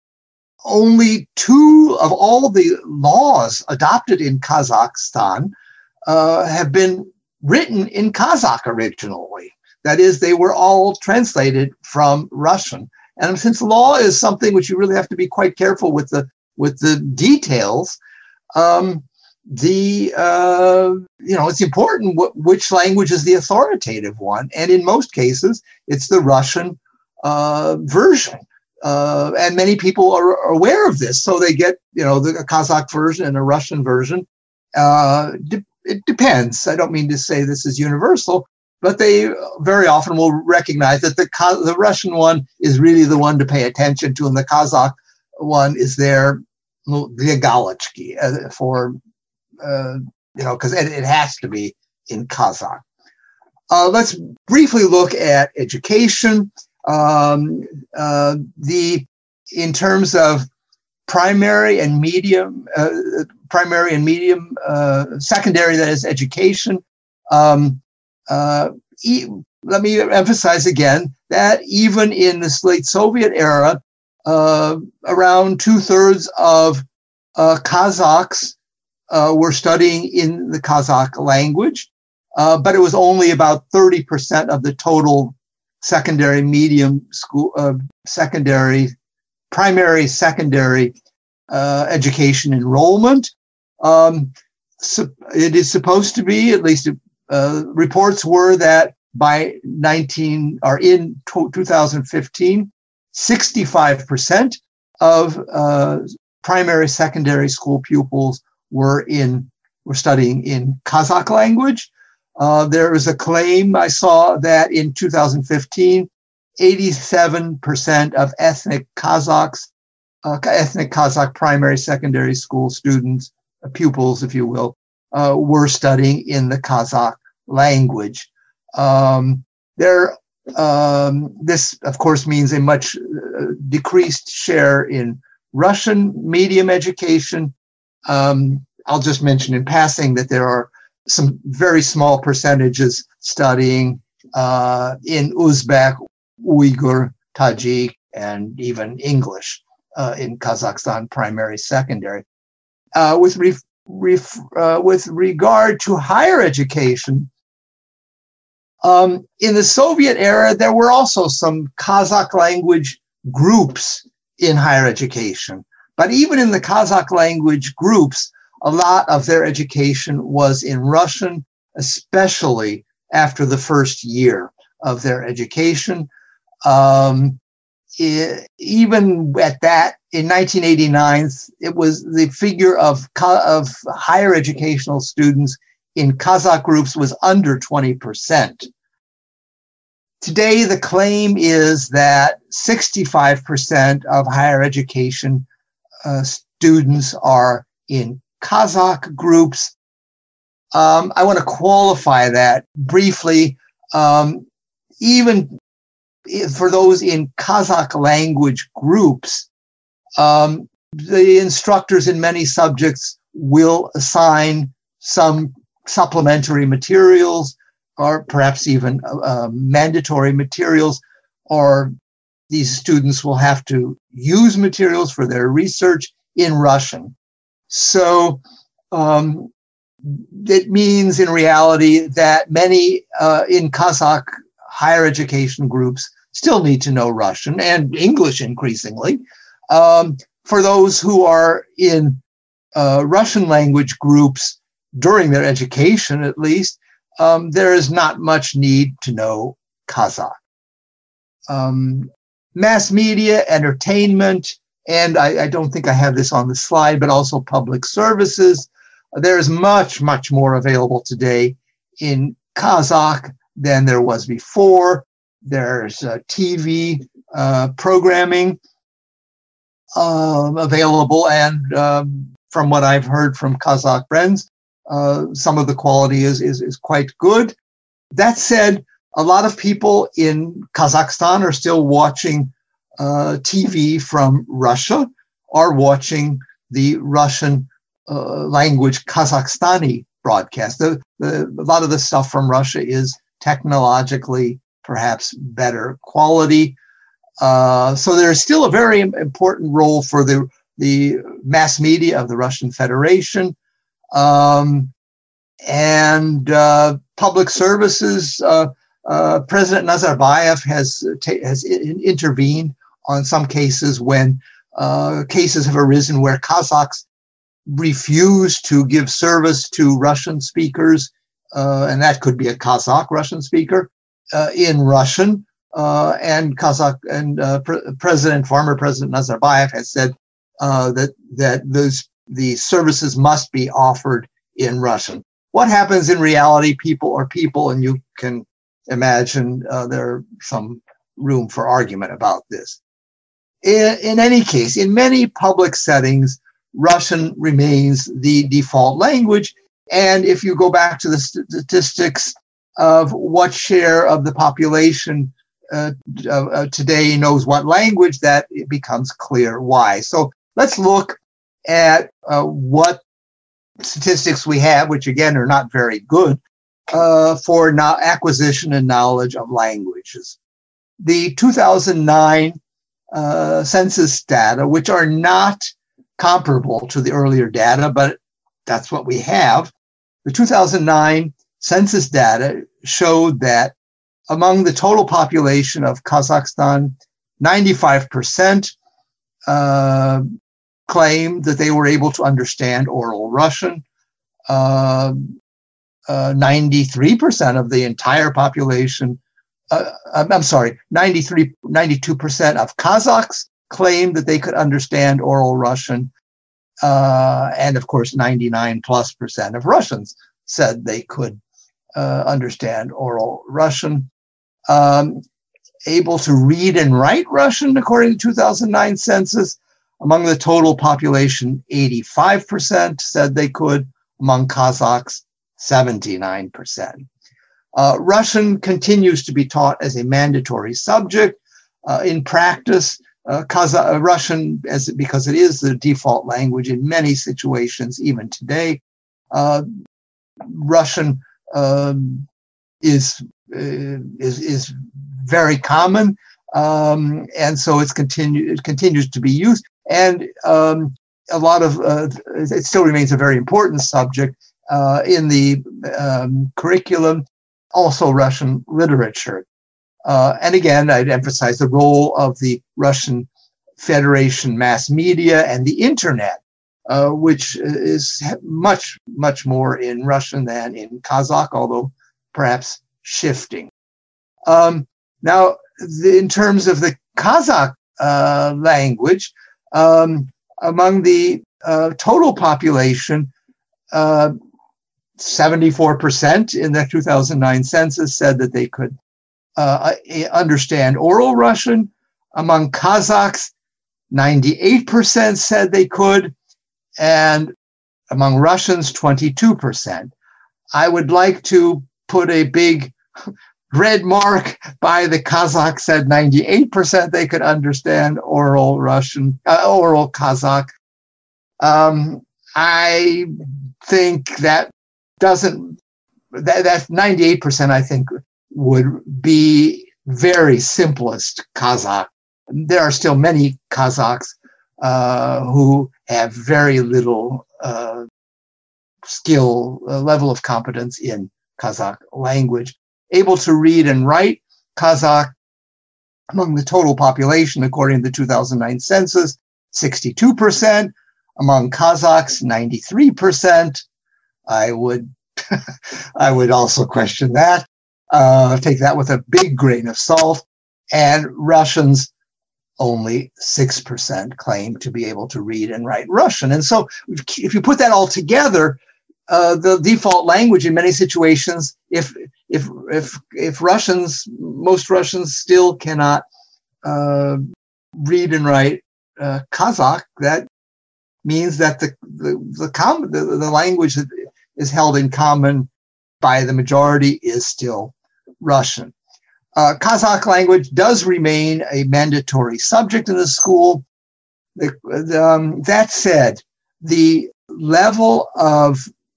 S5: only two of all the laws adopted in Kazakhstan uh, have been written in Kazakh originally. That is, they were all translated from Russian. And since law is something which you really have to be quite careful with the with the details, um, the uh, you know it's important wh- which language is the authoritative one, and in most cases it's the Russian uh, version. Uh, and many people are, are aware of this, so they get you know the Kazakh version and a Russian version. Uh, de- it depends. I don't mean to say this is universal, but they very often will recognize that the the Russian one is really the one to pay attention to, and the Kazakh one is their Galichki uh, for uh, you know because it, it has to be in Kazakh. Uh, let's briefly look at education. Um, uh, the in terms of primary and medium, uh, primary and medium, uh, secondary, that is education. Um, uh, e- let me emphasize again that even in the late Soviet era, uh, around two thirds of uh, Kazakhs uh, were studying in the Kazakh language, uh, but it was only about thirty percent of the total secondary, medium school, uh, secondary, primary, secondary uh, education enrollment. Um, so it is supposed to be, at least uh, reports were that by nineteen or in two thousand fifteen, sixty-five percent of uh, primary, secondary school pupils were in were studying in Kazakh language. Uh, there is a claim I saw that in two thousand fifteen, eighty-seven percent of ethnic Kazakhs, uh, ethnic Kazakh primary, secondary school students, uh, pupils, if you will, uh, were studying in the Kazakh language. Um, there, um, this, of course, means a much uh, decreased share in Russian medium education. Um, I'll just mention in passing that there are some very small percentages studying uh, in Uzbek, Uyghur, Tajik, and even English uh, in Kazakhstan, primary, secondary. Uh, with, ref, ref, uh, with regard to higher education, um, in the Soviet era, there were also some Kazakh language groups in higher education. But even in the Kazakh language groups, a lot of their education was in Russian, especially after the first year of their education. Um, it, even at that, in nineteen eighty-nine, it was the figure of, of higher educational students in Kazakh groups was under twenty percent. Today, the claim is that sixty-five percent of higher education uh, students are in Kazakh groups. Um, I want to qualify that briefly. Um, even for those in Kazakh language groups, um, the instructors in many subjects will assign some supplementary materials or perhaps even uh, mandatory materials, or these students will have to use materials for their research in Russian. So um, it means in reality that many uh, in Kazakh higher education groups still need to know Russian and English increasingly. Um, for those who are in uh, Russian language groups during their education, at least, um, there is not much need to know Kazakh. Um, mass media, entertainment, and I, I don't think I have this on the slide, but also public services. There is much, much more available today in Kazakh than there was before. There's uh, T V uh, programming uh, available, and um, from what I've heard from Kazakh friends, uh, some of the quality is, is, is quite good. That said, A lot of people in Kazakhstan are still watching uh, T V from Russia or watching the Russian uh, language Kazakhstani broadcast. The, the, a lot of the stuff from Russia is technologically perhaps better quality. Uh, so there's still a very important role for the, the mass media of the Russian Federation. Um, and uh, public services, uh, uh, President Nazarbayev has, ta- has in- intervened on some cases when uh, cases have arisen where Kazakhs refuse to give service to Russian speakers, uh, and that could be a Kazakh Russian speaker, uh, in Russian. Uh, and Kazakh and uh, pre- President, former President Nazarbayev has said uh, that that those the services must be offered in Russian. What happens in reality? People are people, and you can imagine uh, there's some room for argument about this. In, in any case, in many public settings, Russian remains the default language. And if you go back to the statistics of what share of the population uh, uh, today knows what language, that it becomes clear why. So let's look at uh, what statistics we have, which again are not very good, uh, for no- acquisition and knowledge of languages. The two thousand nine uh, census data, which are not comparable to the earlier data, but that's what we have. The two thousand nine census data showed that among the total population of Kazakhstan, ninety-five percent uh, claimed that they were able to understand oral Russian. Uh, uh, ninety-three percent of the entire population, uh, I'm sorry, ninety-three, ninety-two percent of Kazakhs claimed that they could understand oral Russian. Uh, and of course, ninety-nine plus percent of Russians said they could uh, understand oral Russian. Um, able to read and write Russian, according to the two thousand nine census, among the total population, eighty-five percent said they could. Among Kazakhs, seventy-nine percent. Uh, Russian continues to be taught as a mandatory subject. Uh, in practice, uh, Kazakh, uh, Russian, as because it is the default language in many situations, even today, uh, Russian um, is, uh, is is very common, um, and so it's continue it continues to be used. And um, a lot of uh, it still remains a very important subject uh, in the um, curriculum. Also, Russian literature. Uh, and again, I'd emphasize the role of the Russian Federation mass media and the internet, uh, which is much, much more in Russian than in Kazakh, although perhaps shifting. Um, now, the, in terms of the Kazakh uh, language, um, among the uh, total population, uh, seventy-four percent in the two thousand nine census said that they could uh, understand oral Russian. Among Kazakhs, ninety-eight percent said they could, and among Russians, twenty-two percent. I would like to put a big red mark by the Kazakhs said ninety-eight percent they could understand oral Russian, uh, oral Kazakh. Um, I think that doesn't, that, that ninety-eight percent I think would be very simplest Kazakh. There are still many Kazakhs uh, who have very little uh, skill, uh, level of competence in Kazakh language. Able to read and write Kazakh among the total population, according to the two thousand nine census, sixty-two percent. Among Kazakhs, ninety-three percent. I would, I would also question that. Uh, take that with a big grain of salt. And Russians, only six percent claim to be able to read and write Russian. And so if you put that all together, uh, the default language in many situations, if if if if Russians, most Russians still cannot uh, read and write uh, Kazakh, that means that the the the, com- the the language that is held in common by the majority is still Russian. uh, Kazakh language does remain a mandatory subject in the school. The, the, um, that said, the level of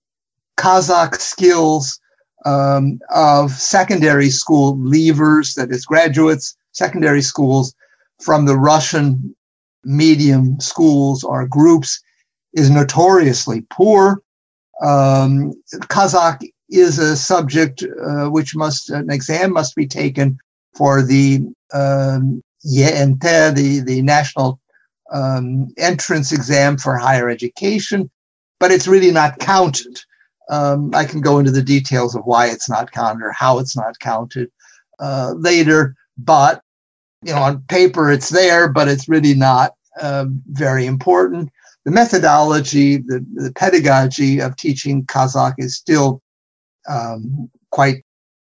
S5: Kazakh skills um, of secondary school leavers, that is graduates, secondary schools from the Russian medium schools or groups, is notoriously poor. Um, Kazakh is a subject uh, which must, an exam must be taken for the um, Y N T, the, the national um, entrance exam for higher education, but it's really not counted. Um, I can go into the details of why it's not counted or how it's not counted uh, later, but you know, on paper it's there, but it's really not uh, very important. The methodology, the, the pedagogy of teaching Kazakh is still um, quite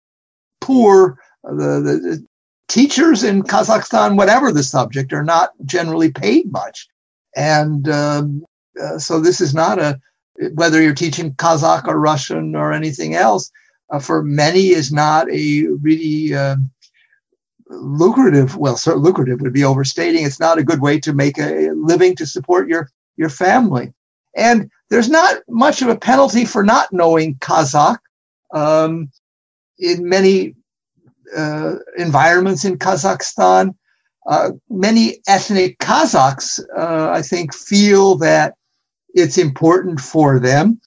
S5: poor. The, the, the teachers in Kazakhstan, whatever the subject, are not generally paid much. And um, uh, so this is not a, whether you're teaching Kazakh or Russian or anything else, uh, for many is not a really uh, lucrative, well, so lucrative would be overstating. It's not a good way to make a living to support your, your family. And there's not much of a penalty for not knowing Kazakh. Um, in many uh, environments in Kazakhstan, uh, many ethnic Kazakhs, uh, I think, feel that it's important for them.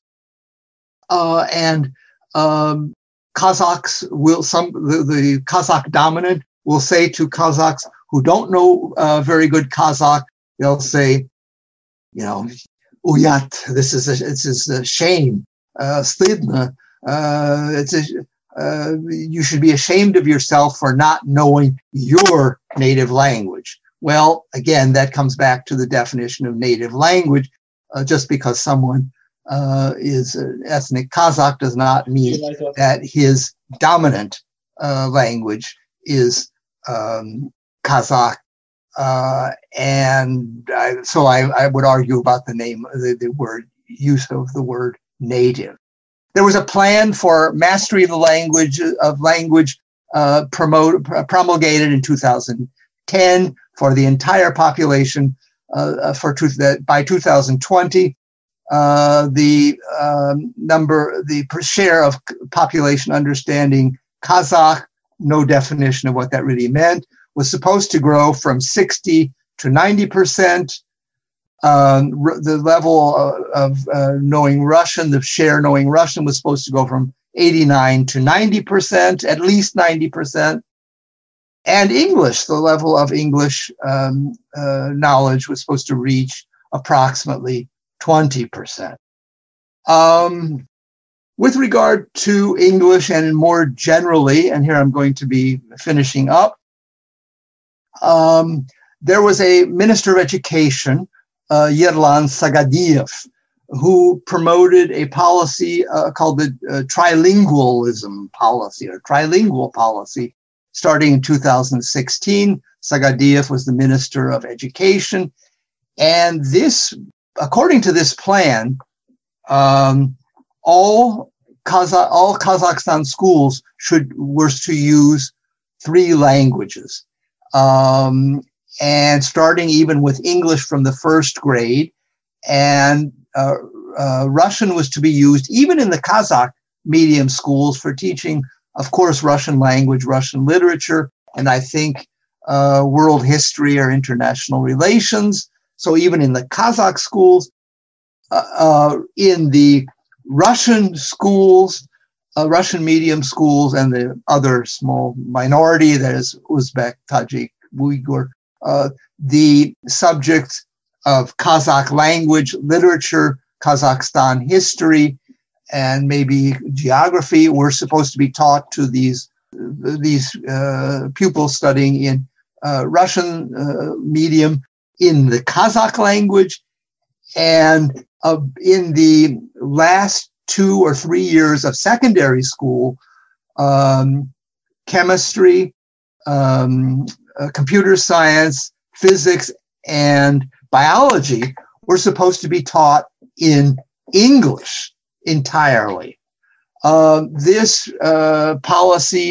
S5: Uh, and um, Kazakhs will, some, the, the Kazakh dominant will say to Kazakhs who don't know uh, very good Kazakh, they'll say, you know, uyat, this is a, this is a shame, uh, stidna, uh, it's a, uh, you should be ashamed of yourself for not knowing your native language. Well, again, that comes back to the definition of native language. Uh, just because someone uh, is an ethnic Kazakh does not mean that his dominant uh, language is um, Kazakh. Uh, and I, so I, I would argue about the name, the, the word, use of the word native. There was a plan for mastery of the language, of language uh, promote, promulgated in two thousand ten for the entire population. Uh, for truth that by two thousand twenty, uh, the um, number, the share of population understanding Kazakh, no definition of what that really meant, was supposed to grow from sixty to ninety percent. Um, the level of, of uh, knowing Russian, the share knowing Russian was supposed to go from eighty-nine to ninety percent, at least ninety percent. And English, the level of English um, uh, knowledge was supposed to reach approximately twenty percent. Um, with regard to English and more generally, and here I'm going to be finishing up, um, there was a Minister of Education, uh, Yerlan Sagadiev, who promoted a policy uh, called the uh, trilingualism policy or trilingual policy. Starting in two thousand sixteen, Sagadiev was the Minister of Education. And this, according to this plan, um, all, Kazakh, all Kazakhstan schools should were to use three languages. Um, and starting even with English from the first grade. And uh, uh, Russian was to be used even in the Kazakh medium schools for teaching, of course, Russian language, Russian literature, and I think uh, world history or international relations. So even in the Kazakh schools, uh, uh, in the Russian schools, uh, Russian medium schools, and the other small minority, that is Uzbek, Tajik, Uyghur, uh, the subjects of Kazakh language, literature, Kazakhstan history, and maybe geography were supposed to be taught to these these uh, pupils studying in uh, Russian uh, medium in the Kazakh language. And uh, in the last two or three years of secondary school, um, chemistry, um, uh, computer science, physics, and biology were supposed to be taught in English entirely. Uh, this uh, policy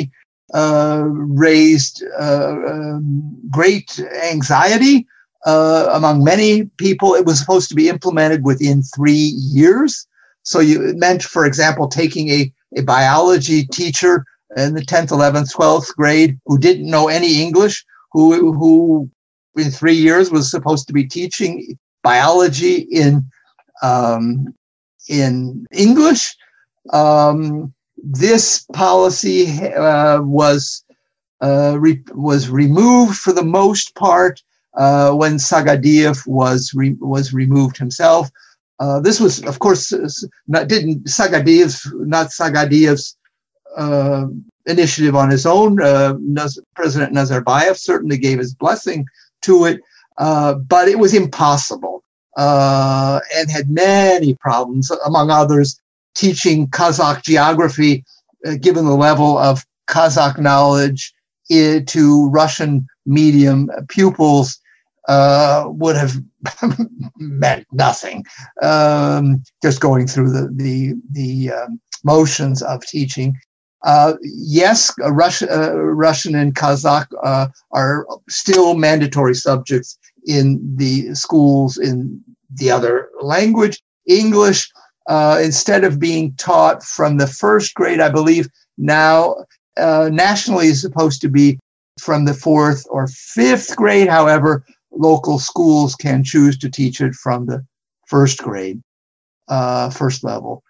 S5: uh, raised uh, um, great anxiety uh, among many people. It was supposed to be implemented within three years. So you, it meant, for example, taking a, a biology teacher in the tenth, eleventh, twelfth grade who didn't know any English, who, who in three years was supposed to be teaching biology in, um, in English. Um, this policy uh, was, uh, re- was removed for the most part uh, when Sagadiev was, re- was removed himself. Uh, this was, of course, not didn't Sagadiev's not Sagadiev's uh, initiative on his own. Uh, Naz- President Nazarbayev certainly gave his blessing to it, uh, but it was impossible uh, and had many problems, among others, teaching Kazakh geography, uh, given the level of Kazakh knowledge uh, to Russian medium pupils. Uh, would have meant nothing. Um, just going through the the, the um, motions of teaching. Uh, yes, uh, Russian, uh, Russian and Kazakh uh, are still mandatory subjects in the schools in the other language. English, uh, instead of being taught from the first grade, I believe now uh, nationally is supposed to be from the fourth or fifth grade. However, local schools can choose to teach it from the first grade, uh, first level.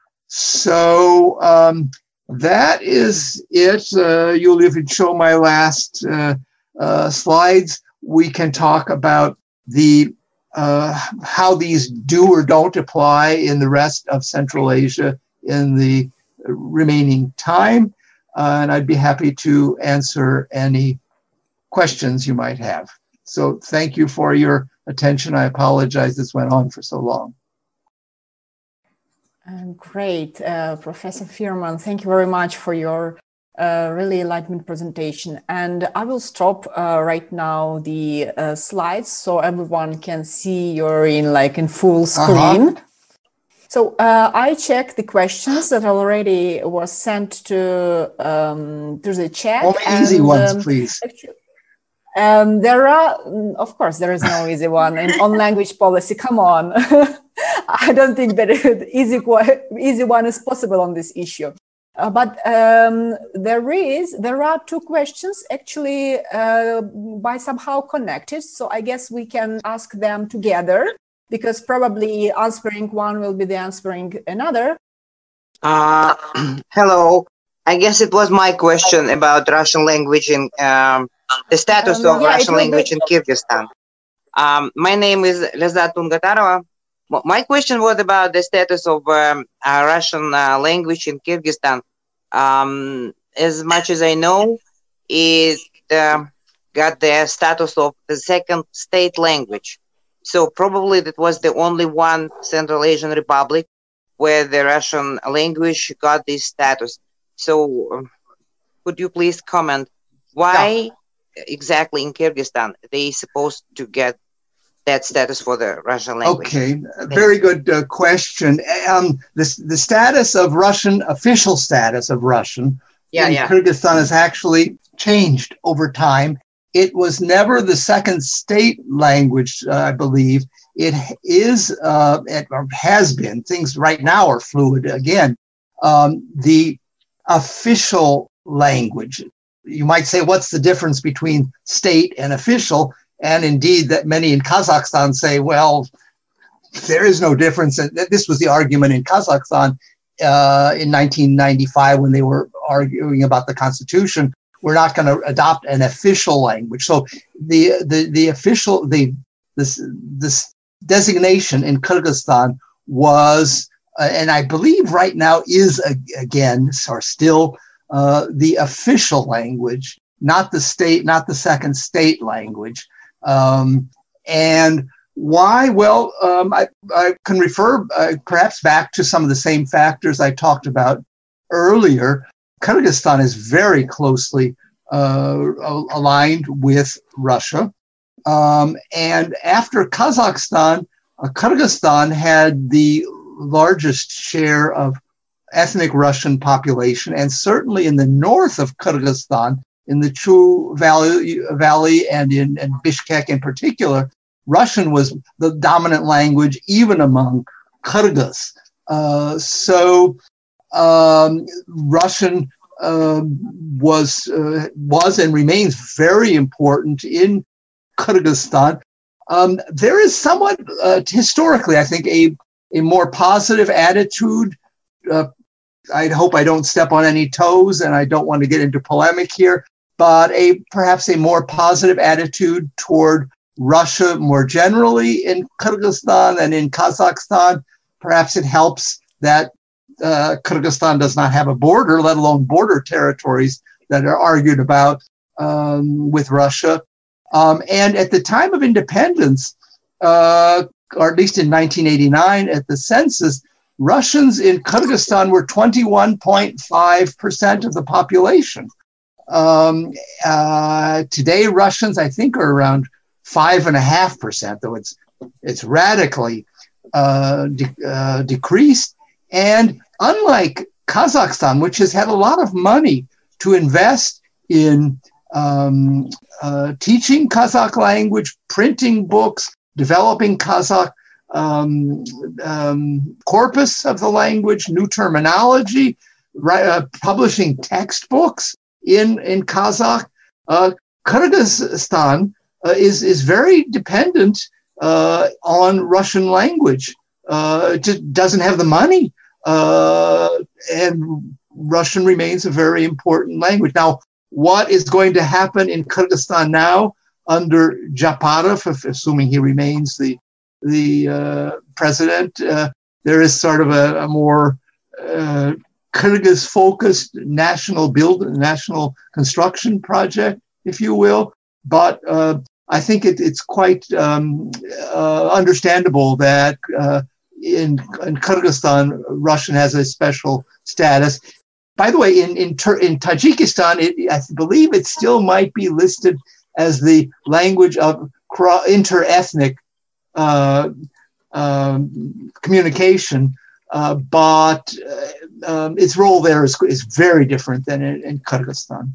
S5: So um, that is it. Uh, Yulia, if you'd show my last uh, uh, slides, we can talk about the uh, how these do or don't apply in the rest of Central Asia in the remaining time. Uh, and I'd be happy to answer any questions you might have. So thank you for your attention. I apologize this went on for so long.
S3: Um, great, uh, Professor Firman. Thank you very much for your uh, really enlightenment presentation. And I will stop uh, right now the uh, slides so everyone can see you're in like in full screen. Uh-huh. So uh, I checked the questions that already was sent to um, to the chat.
S5: Only and, easy ones, um, please.
S3: Actually, Um, there are, of course, there is no easy one in on language policy. Come on, I don't think that easy easy one is possible on this issue. Uh, but um, there is, there are two questions actually uh, by somehow connected. So I guess we can ask them together because probably answering one will be the answering another.
S6: Uh, hello. I guess it was my question about Russian language in. Um, The status um, of yeah, Russian language be... in Kyrgyzstan. Um, my name is Lezat Tungatarova. My question was about the status of um, uh, Russian uh, language in Kyrgyzstan. Um, as much as I know, it uh, got the status of the second state language. So probably that was the only one Central Asian republic where the Russian language got this status. So um, could you please comment why... Yeah. Exactly in Kyrgyzstan they supposed to get that status for the Russian language?
S5: Okay, very good uh, question. Um, this, the status of Russian, official status of Russian yeah, in yeah. Kyrgyzstan has actually changed over time. It was never the second state language, uh, I believe. It is, uh, it has been, things right now are fluid again, um, the official language. You might say, what's the difference between state and official? And indeed, that many in Kazakhstan say, well, there is no difference. And this was the argument in Kazakhstan uh, in nineteen ninety-five when they were arguing about the constitution. We're not going to adopt an official language. So the the the official the this this designation in Kyrgyzstan was, uh, and I believe right now is again or still. Uh, the official language, not the state, not the second state language. Um, and why? Well, um, I, I can refer uh, perhaps back to some of the same factors I talked about earlier. Kyrgyzstan is very closely uh, aligned with Russia. Um, and after Kazakhstan, uh, Kyrgyzstan had the largest share of ethnic Russian population, and certainly in the north of Kyrgyzstan, in the Chu Valley, Valley and in and Bishkek in particular, Russian was the dominant language even among Kyrgyz. Uh, so um, Russian uh, was uh, was and remains very important in Kyrgyzstan. Um, there is somewhat uh, historically, I think, a a more positive attitude. Uh, I hope I don't step on any toes, and I don't want to get into polemic here, but a perhaps a more positive attitude toward Russia more generally in Kyrgyzstan and in Kazakhstan. Perhaps it helps that uh, Kyrgyzstan does not have a border, let alone border territories that are argued about um, with Russia. Um, and at the time of independence, uh, or at least in nineteen eighty-nine at the census, Russians in Kyrgyzstan were twenty-one point five percent of the population. Um, uh, today, Russians, I think, are around five and a half percent, though it's it's radically uh, de- uh, decreased. And unlike Kazakhstan, which has had a lot of money to invest in um, uh, teaching Kazakh language, printing books, developing Kazakh um, um, corpus of the language, new terminology, right, uh, publishing textbooks in, in Kazakh, uh, Kyrgyzstan uh, is, is very dependent uh, on Russian language. Uh, it just doesn't have the money, uh, and Russian remains a very important language. Now, what is going to happen in Kyrgyzstan now under Japarov, if, assuming he remains the the uh, president? Uh, there is sort of a, a more uh, Kyrgyz-focused national build, national construction project, if you will. But uh, I think it, it's quite um, uh, understandable that uh, in, in Kyrgyzstan, Russian has a special status. By the way, in in, in Tajikistan, it, I believe it still might be listed as the language of inter-ethnic uh, um, communication, uh, but uh, um, its role there is, is very different than in, in Kyrgyzstan.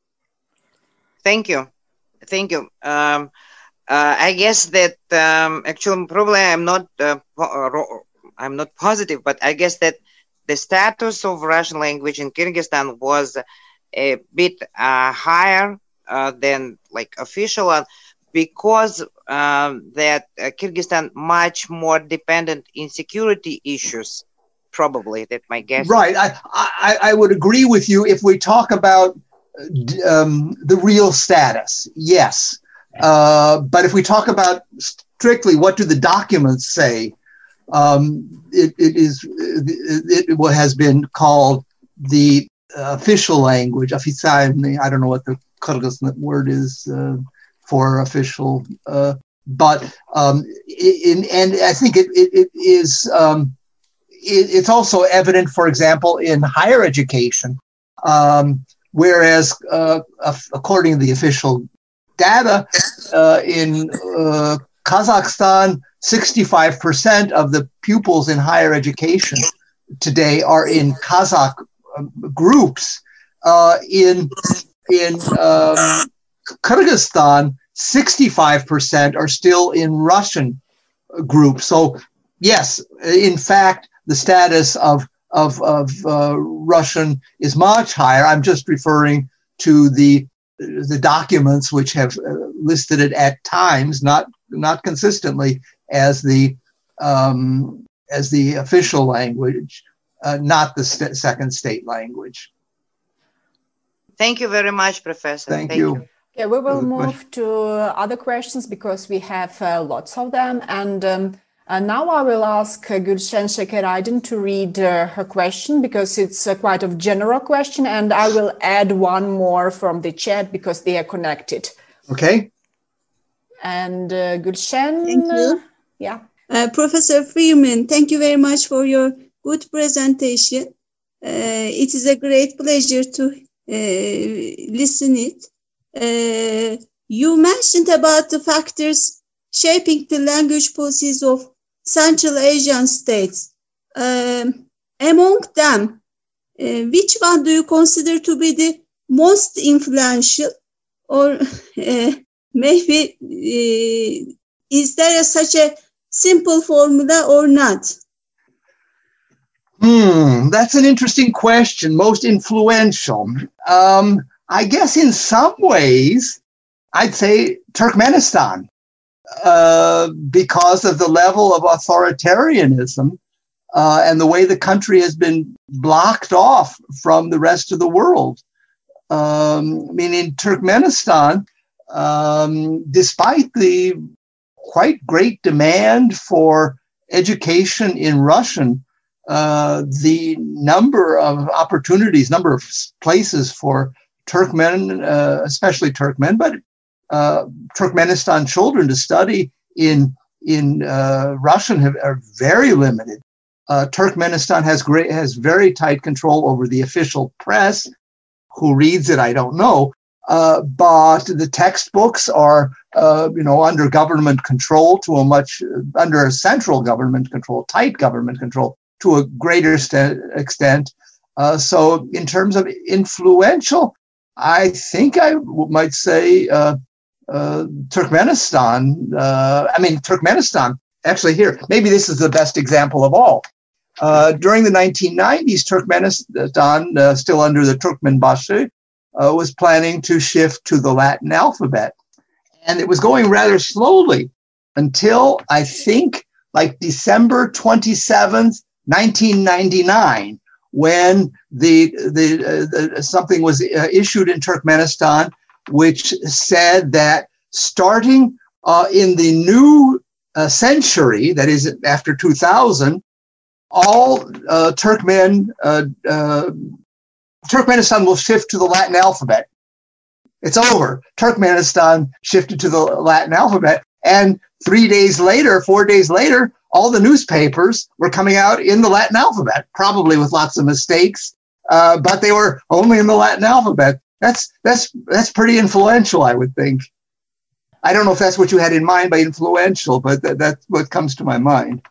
S6: Thank you. Thank you. Um, uh, I guess that um, actually probably I'm not uh, I'm not positive, but I guess that the status of Russian language in Kyrgyzstan was a bit uh, higher uh, than like official one, because um, that uh, Kyrgyzstan much more dependent in security issues. Probably, that my guess.
S5: Right. I, I I would agree with you if we talk about um, the real status. Yes, uh, but if we talk about strictly what do the documents say, um, it, it is it, it has been called the official language. Официальный. I don't know what the Kyrgyz word is uh, for official, uh, but um, in and I think it it, it is. Um, It's also evident, for example, in higher education, um, whereas uh, according to the official data uh, in uh, Kazakhstan, sixty-five percent of the pupils in higher education today are in Kazakh groups. Uh, in in um, Kyrgyzstan, sixty-five percent are still in Russian groups. So, yes, in fact, the status of of, of uh, Russian is much higher. I'm just referring to the the documents which have uh, listed it at times, not not consistently, as the um, as the official language, uh, not the st- second state language.
S6: Thank you very much, Professor.
S5: Thank, Thank you. you.
S3: Okay, we will move to other questions because we have uh, lots of them, and. Um, And now I will ask uh, Gülşen Şekeraydın to read uh, her question because it's uh, quite a general question, and I will add one more from the chat because they are connected.
S5: Okay.
S3: And uh, Gülşen.
S7: Thank you.
S3: Uh, yeah.
S7: Uh, Professor Freeman, thank you very much for your good presentation. Uh, it is a great pleasure to uh, listen it. Uh, you mentioned about the factors shaping the language policies of Central Asian states. Um, among them, uh, which one do you consider to be the most influential, or uh, maybe uh, is there a, such a simple formula or not?
S5: Hmm, that's an interesting question. Most influential. Um, I guess in some ways, I'd say Turkmenistan, uh, because of the level of authoritarianism uh, and the way the country has been blocked off from the rest of the world. Um, I mean, in Turkmenistan, um, despite the quite great demand for education in Russian, uh, the number of opportunities, number of places for Turkmen, uh, especially Turkmen, but uh, Turkmenistan children to study in in uh, Russian have, are very limited. Uh, Turkmenistan has great has very tight control over the official press. Who reads it, I don't know. Uh, but the textbooks are, uh, you know, under government control to a much, uh, under a central government control, tight government control to a greater st- extent. Uh, so in terms of influential, I think I w- might say uh, uh, Turkmenistan. Uh, I mean, Turkmenistan, actually here, maybe this is the best example of all. Uh, during the nineteen nineties, Turkmenistan, uh, still under the Turkmenbashi, uh, was planning to shift to the Latin alphabet. And it was going rather slowly until I think like December twenty-seventh, nineteen ninety-nine, when the, the, uh, the something was uh, issued in Turkmenistan, which said that starting uh, in the new uh, century, that is after two thousand, all uh, Turkmen, uh, uh, Turkmenistan will shift to the Latin alphabet. It's over. Turkmenistan shifted to the Latin alphabet. And three days later, four days later, all the newspapers were coming out in the Latin alphabet, probably with lots of mistakes, uh, but they were only in the Latin alphabet. That's, that's, that's pretty influential, I would think. I don't know if that's what you had in mind by influential, but th- that's what comes to my mind.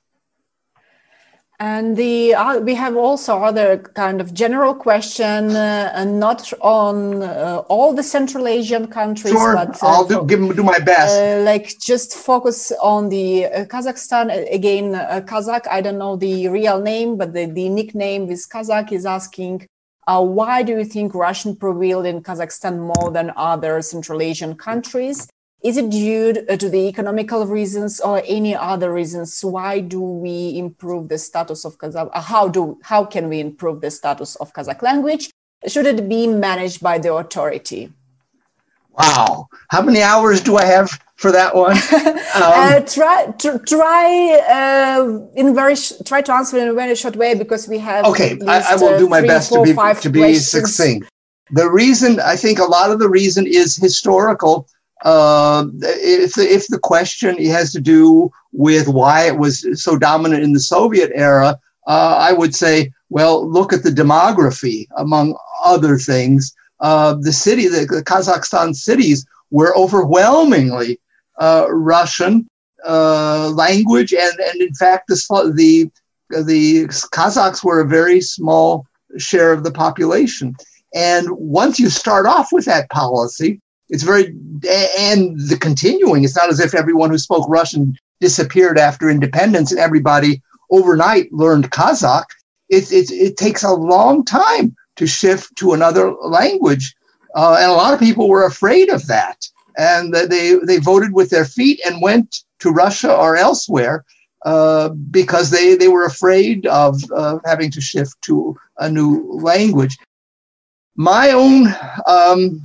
S3: And the uh, we have also other kind of general question, uh, and not on uh, all the Central Asian countries.
S5: Sure,
S3: but uh,
S5: I'll do, give, do my best.
S3: Uh, like just focus on the uh, Kazakhstan again. Uh, Kazakh, I don't know the real name, but the, the nickname is Kazakh. Is asking, uh, why do you think Russian prevailed in Kazakhstan more than other Central Asian countries? Is it due to the economical reasons or any other reasons? Why do we improve the status of Kazakh? How do how can we improve the status of Kazakh language? Should it be managed by the authority?
S5: Wow, how many hours do I have for that one? Um,
S3: uh, try to try uh, in very sh- try to answer in a very short way because we have.
S5: Okay,
S3: least,
S5: I, I will do my
S3: three,
S5: best
S3: four,
S5: to be to be
S3: questions.
S5: succinct. The reason, I think, a lot of the reason is historical. Uh, if, the, if the question has to do with why it was so dominant in the Soviet era, uh, I would say, well, look at the demography, among other things. Uh, the city, the, the Kazakhstan cities were overwhelmingly uh, Russian uh, language, and, and in fact, the, the, the Kazakhs were a very small share of the population. And once you start off with that policy, it's very, and the continuing, it's not as if everyone who spoke Russian disappeared after independence and everybody overnight learned Kazakh. It, it, it takes a long time to shift to another language. Uh, and a lot of people were afraid of that. And they, they voted with their feet and went to Russia or elsewhere uh, because they, they were afraid of uh, having to shift to a new language. My own... Um,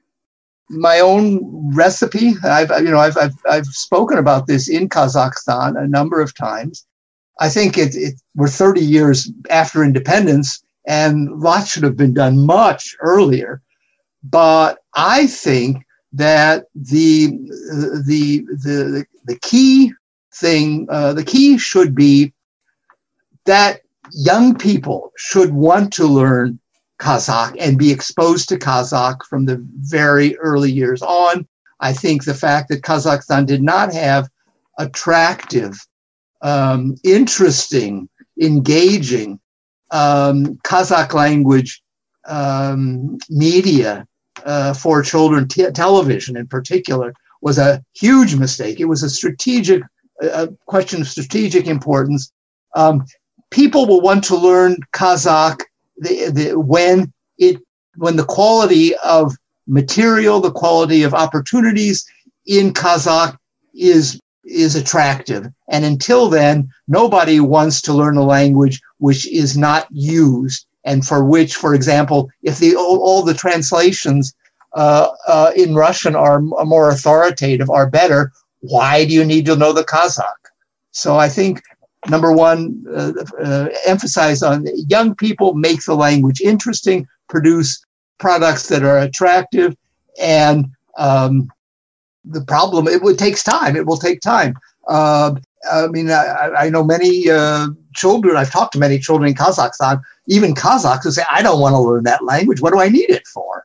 S5: My own recipe. I've you know I've I've I've spoken about this in Kazakhstan a number of times. I think it, it we're thirty years after independence, and lots should have been done much earlier. But I think that the the the the key thing, uh, the key should be that young people should want to learn Kazakh and be exposed to Kazakh from the very early years on. I think the fact that Kazakhstan did not have attractive, um, interesting, engaging um, Kazakh language um, media uh, for children, t- television in particular, was a huge mistake. It was a strategic a question of strategic importance. Um, people will want to learn Kazakh the, the, when it when the quality of material, the quality of opportunities in Kazakh is is attractive. And until then, nobody wants to learn a language which is not used, and for which, for example, if the all, all the translations uh, uh, in Russian are more authoritative, are better, why do you need to know the Kazakh? So I think, number one, uh, uh, emphasize on young people, make the language interesting, produce products that are attractive, and um, the problem, it would takes time. It will take time. Uh, I mean, I, I know many uh, children, I've talked to many children in Kazakhstan, even Kazakhs who say, I don't want to learn that language. What do I need it for?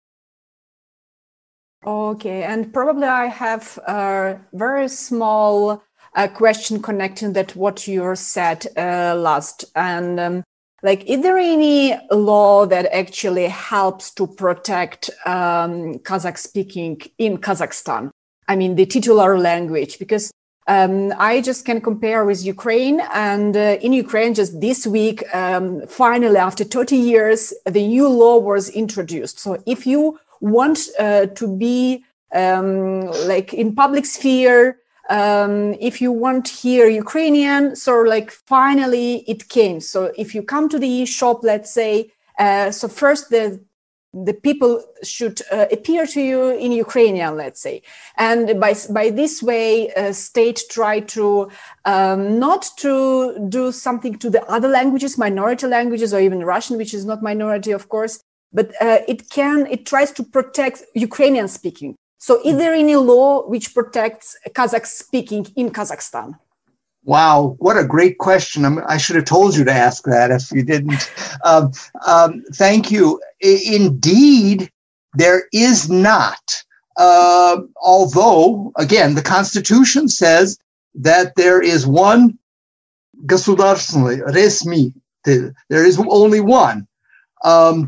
S3: Okay, and probably I have a very small uh, question connecting that what you said uh, last. And um, like, is there any law that actually helps to protect um, Kazakh speaking in Kazakhstan? I mean, the titular language, because um, I just can compare with Ukraine, and uh, in Ukraine just this week, um, finally, after thirty years, the new law was introduced. So if you want uh, to be um, like in public sphere, um, if you want hear Ukrainian, so like finally it came. So if you come to the shop, let's say, uh, so first the the people should uh, appear to you in Ukrainian, let's say. And by, by this way, uh, state try to um, not to do something to the other languages, minority languages, or even Russian, which is not minority, of course, but uh, it can, it tries to protect Ukrainian speaking. So is there any law which protects Kazakh speaking in Kazakhstan?
S5: Wow, what a great question. I'm, I should have told you to ask that if you didn't. Um, um, thank you. I, indeed, there is not. Uh, although, again, the Constitution says that there is one государственный, resmi. There is only one. Um,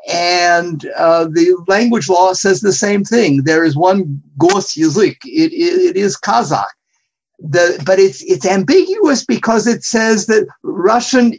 S5: and uh, the language law says the same thing. There is one госязык. It, it, it is Kazakh. The, but it's it's ambiguous because it says that Russian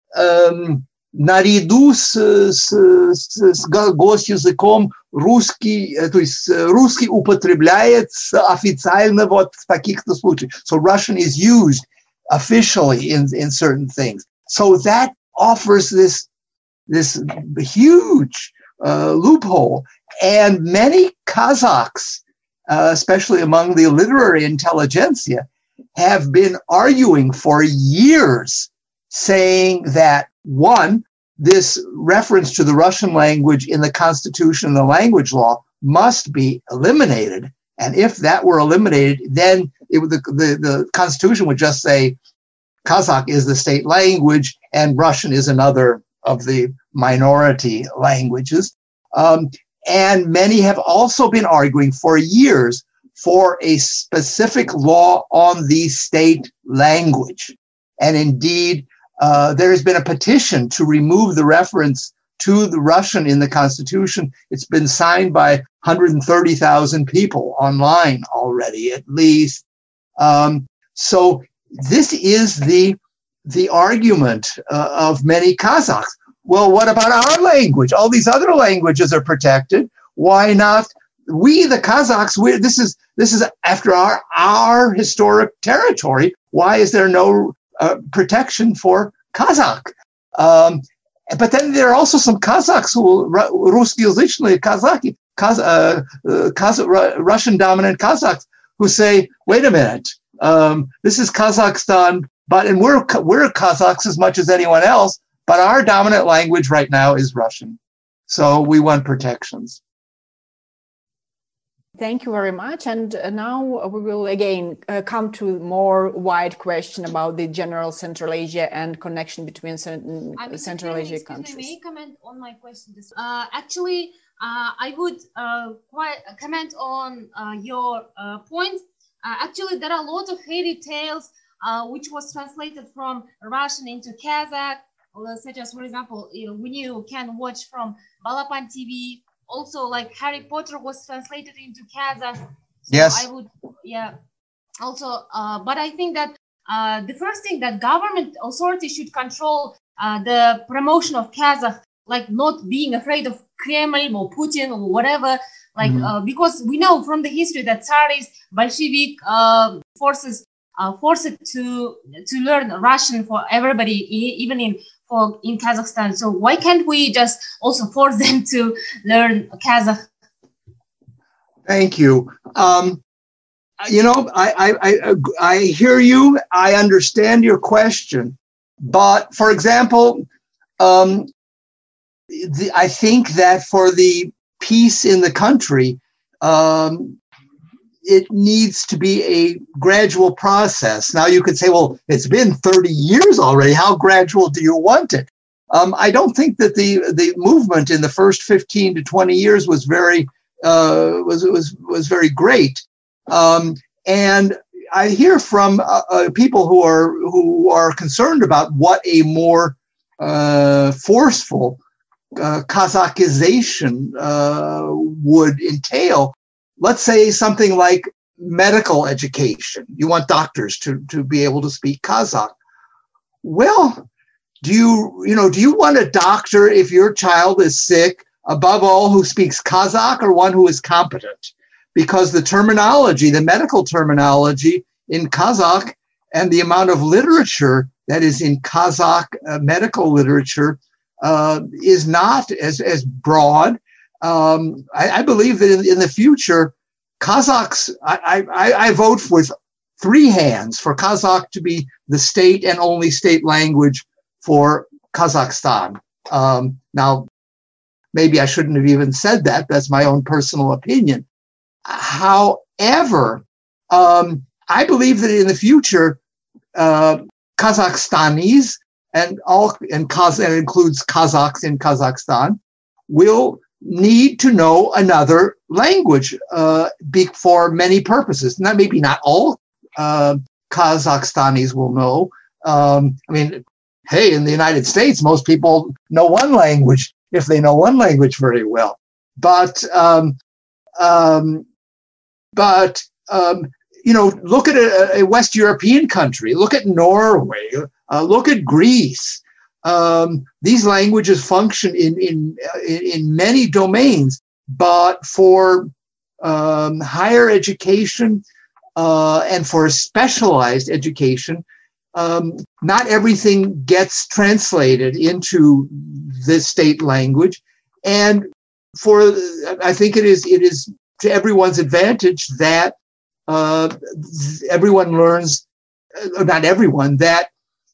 S5: um, наряду с, с, с госязыком русский, то есть русский употребляется официально вот в таких-то случаях. So Russian is used officially in, in certain things. So that offers this this huge uh, loophole, and many Kazakhs, uh, especially among the literary intelligentsia, have been arguing for years, saying that, one, this reference to the Russian language in the Constitution and the language law must be eliminated. And if that were eliminated, then it would, the, the, the Constitution would just say Kazakh is the state language and Russian is another of the minority languages. Um, and many have also been arguing for years for a specific law on the state language. And indeed, uh, there has been a petition to remove the reference to the Russian in the Constitution. It's been signed by one hundred thirty thousand people online already, at least. Um, so this is the, the argument uh, of many Kazakhs. Well, what about our language? All these other languages are protected. Why not? We, the Kazakhs, we, this is this is after our our historic territory. Why is there no uh, protection for Kazakh? Um, but then there are also some Kazakhs who русскоязычные Kazakh, Kaz, uh, uh, Kaz, Russian dominant Kazakhs who say, wait a minute, um, this is Kazakhstan, but and we're we're Kazakhs as much as anyone else, but our dominant language right now is Russian. So we want protections.
S3: Thank you very much. And uh, now we will again uh, come to more wide question about the general Central Asia and connection between certain uh, Central Asia countries.
S8: May I comment on my question? Uh, actually, uh, I would uh, quite comment on uh, your uh, point. Uh, actually, there are a lot of fairy tales uh, which was translated from Russian into Kazakh, such as, for example, you know, when you can watch from Balapan T V, also like Harry Potter was translated into Kazakh. So
S5: yes.
S8: I would, yeah. Also, uh, but I think that uh, the first thing that government authorities should control uh, the promotion of Kazakh, like not being afraid of Kremlin or Putin or whatever, like mm-hmm. uh, because we know from the history that Tsarist Bolshevik uh, forces uh, forced to to learn Russian for everybody, even in for in Kazakhstan. So why can't we just also force them to learn Kazakh?
S5: Thank you. Um, you know, I, I I I hear you. I understand your question, but for example, um, the, I think that for the peace in the country, um, it needs to be a gradual process. Now you could say, well, it's been thirty years already. How gradual do you want it? Um, I don't think that the the movement in the first fifteen to twenty years was very uh, was was was very great. Um, and I hear from uh, uh, people who are who are concerned about what a more uh, forceful uh, Kazakhization uh, would entail. Let's say something like medical education. You want doctors to, to be able to speak Kazakh. Well, do you, you know, do you want a doctor if your child is sick, above all, who speaks Kazakh, or one who is competent? Because the terminology, the medical terminology in Kazakh and the amount of literature that is in Kazakh uh, medical literature uh, is not as, as broad. Um, I, I believe that in, in the future, Kazakhs, I, I, I vote with three hands for Kazakh to be the state and only state language for Kazakhstan. Um, now, maybe I shouldn't have even said that. That's my own personal opinion. However, um, I believe that in the future, uh, Kazakhstanis and all and Kaz and includes Kazakhs in Kazakhstan will need to know another language uh, for many purposes. Not maybe not all uh, Kazakhstanis will know. Um, I mean, hey, in the United States, most people know one language if they know one language very well. But um, um, but um, you know, look at a, a West European country. Look at Norway. Uh, look at Greece. Um, these languages function in, in, in many domains, but for um, higher education uh, and for specialized education, um, not everything gets translated into the state language. And for, I think it is, it is to everyone's advantage that uh, everyone learns, uh, not everyone, that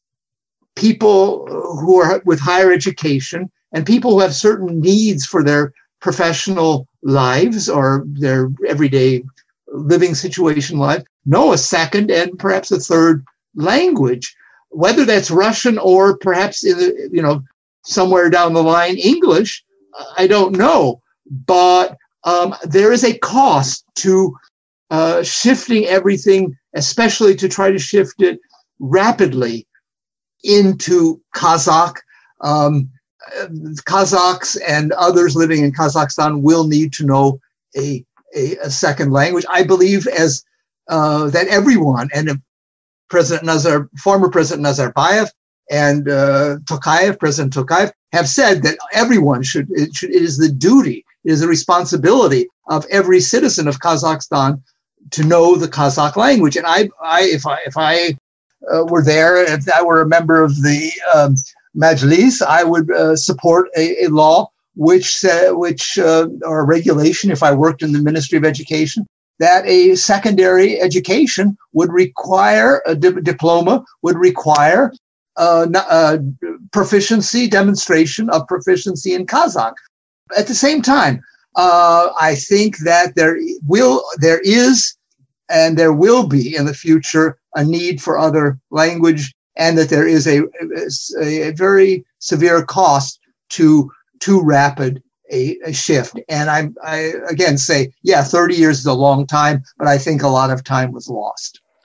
S5: people who are with higher education and people who have certain needs for their professional lives or their everyday living situation life know a second and perhaps a third language, whether that's Russian or perhaps in the, you know, somewhere down the line English. I don't know, but um, there is a cost to uh, shifting everything, especially to try to shift it rapidly into Kazakh. Um, Kazakhs and others living in Kazakhstan will need to know a, a, a second language. I believe as uh, that everyone, and President Nazar, former President Nazarbayev and uh, Tokayev, President Tokayev, have said that everyone should it, should, it is the duty, it is the responsibility of every citizen of Kazakhstan to know the Kazakh language. And I, I if I, if I Uh, were there, if I were a member of the um, Majlis, I would uh, support a, a law which, uh, which uh, or a regulation, if I worked in the Ministry of Education, that a secondary education would require, a di- diploma would require uh, uh, proficiency, demonstration of proficiency in Kazakh. At the same time, uh, I think that there will, there is, and there will be in the future a need for other language, and that there is a, a, a very severe cost to too rapid a, a shift. And I, I again say, yeah, thirty years is a long time, but I think a lot of time was lost.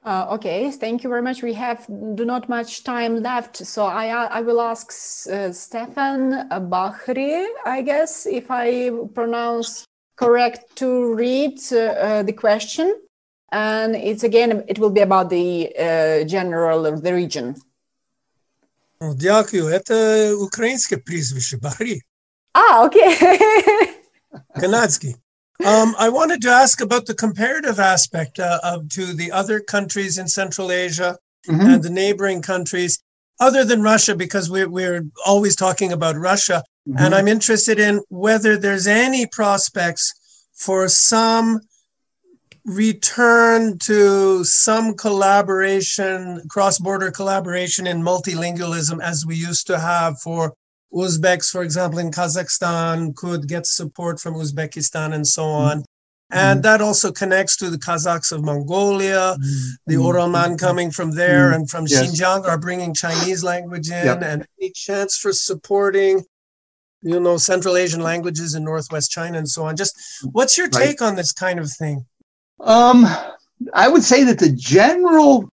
S3: Uh, okay, thank you very much. We have do not much time left, so I I will ask uh, Stefan Bahri, I guess, if I pronounce correct, to read uh, uh, the question, and it's again it will be about the uh, general of the region.
S9: Дякую. Это украинское прізвище Bahri.
S3: Ah, okay.
S9: Kanadski. Um, I wanted to ask about the comparative aspect uh, of to the other countries in Central Asia mm-hmm. and the neighboring countries, other than Russia, because we're, we're always talking about Russia. Mm-hmm. And I'm interested in whether there's any prospects for some return to some collaboration, cross-border collaboration in multilingualism as we used to have for Uzbeks, for example, in Kazakhstan could get support from Uzbekistan and so on. Mm-hmm. And that also connects to the Kazakhs of Mongolia, mm-hmm. the Oralman coming from there mm-hmm. and from yes. Xinjiang are bringing Chinese language in yep. and any chance for supporting, you know, Central Asian languages in Northwest China and so on. Just what's your take right. on this kind of thing?
S5: Um, I would say that the general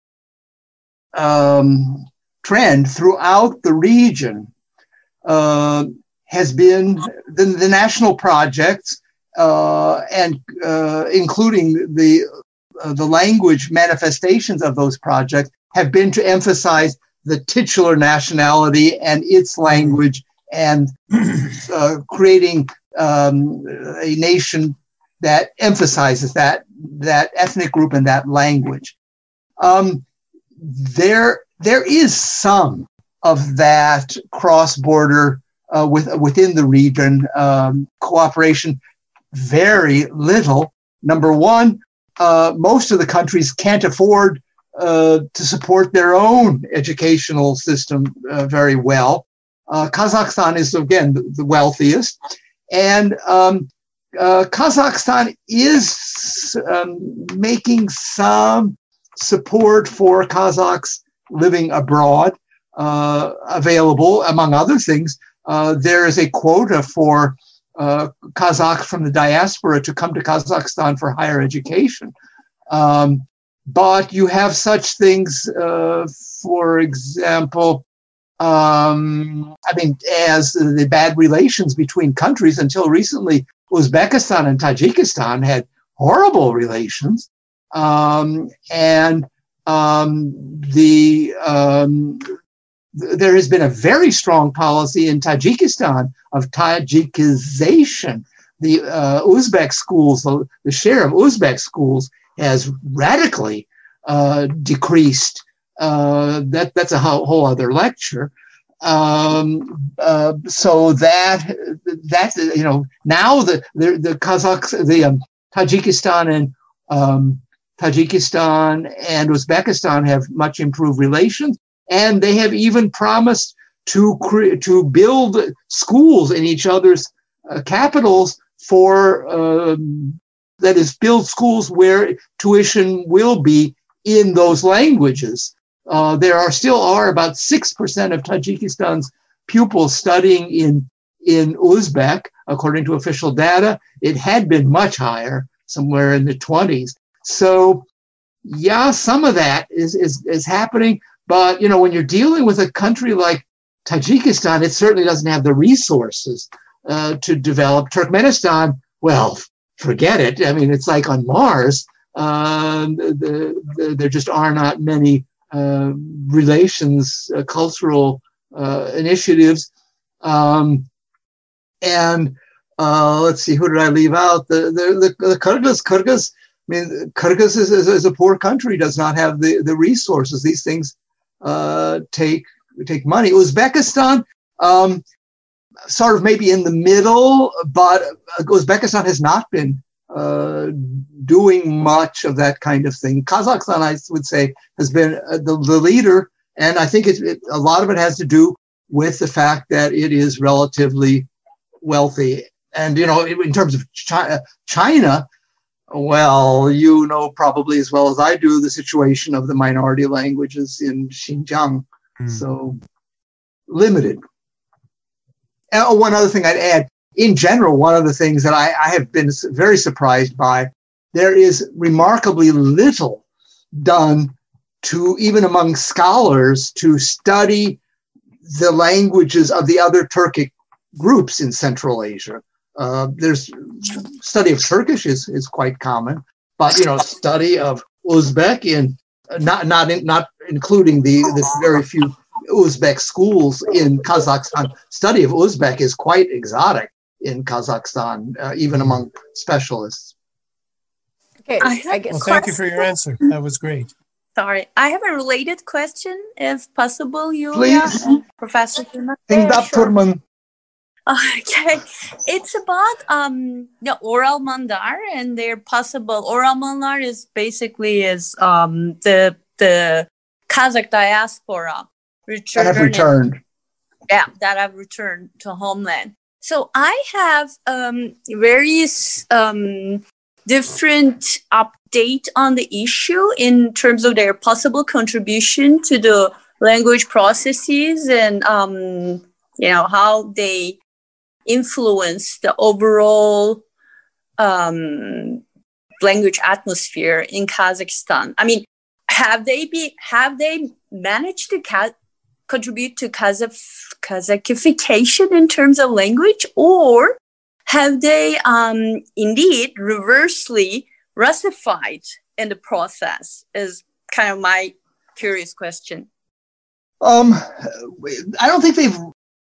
S5: um, trend throughout the region Uh, has been the, the national projects uh, and uh, including the uh, the language manifestations of those projects have been to emphasize the titular nationality and its language and uh, creating um, a nation that emphasizes that that ethnic group and that language. Um, there there is some of that cross-border uh, with, within the region um, cooperation, very little. Number one, uh, most of the countries can't afford uh, to support their own educational system uh, very well. Uh, Kazakhstan is, again, the, the wealthiest. And um, uh, Kazakhstan is um, making some support for Kazakhs living abroad. Uh, available, among other things. Uh, there is a quota for uh, Kazakhs from the diaspora to come to Kazakhstan for higher education. Um, but you have such things, uh, for example, um, I mean, as the bad relations between countries. Until recently, Uzbekistan and Tajikistan had horrible relations. Um, and um, the um, there has been a very strong policy in Tajikistan of Tajikization. The uh, Uzbek schools, the, the share of Uzbek schools has radically uh, decreased. Uh, that that's a whole, whole other lecture. Um, uh, so that that you know now the the, the Kazakhs, the um, Tajikistan and um, Tajikistan and Uzbekistan have much improved relations. And they have even promised to cre- to build schools in each other's uh, capitals for, um, that is, build schools where tuition will be in those languages. Uh, there are still are about six percent of Tajikistan's pupils studying in, in Uzbek, according to official data. It had been much higher, somewhere in the twenties. So, yeah, some of that is is, is happening. But, you know, when you're dealing with a country like Tajikistan, it certainly doesn't have the resources uh, to develop. Turkmenistan, well, forget it. I mean, it's like on Mars. Uh, the, the, there just are not many uh, relations, uh, cultural uh, initiatives. Um, and uh, let's see, who did I leave out? The, the, the, the Kyrgyz, Kyrgyz, I mean, Kyrgyz is, is, is a poor country, does not have the, the resources. These things Uh, take take money. Uzbekistan, um, sort of maybe in the middle, but Uzbekistan has not been uh, doing much of that kind of thing. Kazakhstan, I would say, has been uh, the, the leader, and I think it, it, a lot of it has to do with the fact that it is relatively wealthy. And, you know, in terms of China, China well, you know probably as well as I do the situation of the minority languages in Xinjiang. Mm. So limited. And one other thing I'd add, in general, one of the things that I, I have been very surprised by, there is remarkably little done to, even among scholars, to study the languages of the other Turkic groups in Central Asia. Uh, there's study of Turkish is, is quite common, but, you know, study of Uzbek in not not in, not including the, the very few Uzbek schools in Kazakhstan. Study of Uzbek is quite exotic in Kazakhstan, uh, even among specialists.
S3: Okay,
S4: I have
S3: I guess.
S9: Well, thank you for your answer. That was great.
S4: Sorry, I have a related question, if possible, Yulia.
S5: Please.
S4: Professor Firman.
S5: Yeah, sure.
S4: Okay, it's about um the Oral Mandar and their possible Oral Mandar is basically is um the the Kazakh diaspora
S5: That have returned.
S4: Yeah, that have returned to homeland. So I have um various um different update on the issue in terms of their possible contribution to the language processes and um you know how they influence the overall um, language atmosphere in Kazakhstan. I mean, have they be have they managed to ca- contribute to Kazakh Kazakhification in terms of language, or have they um, indeed reversely Russified in the process? Is kind of my curious question.
S5: Um, I don't think they've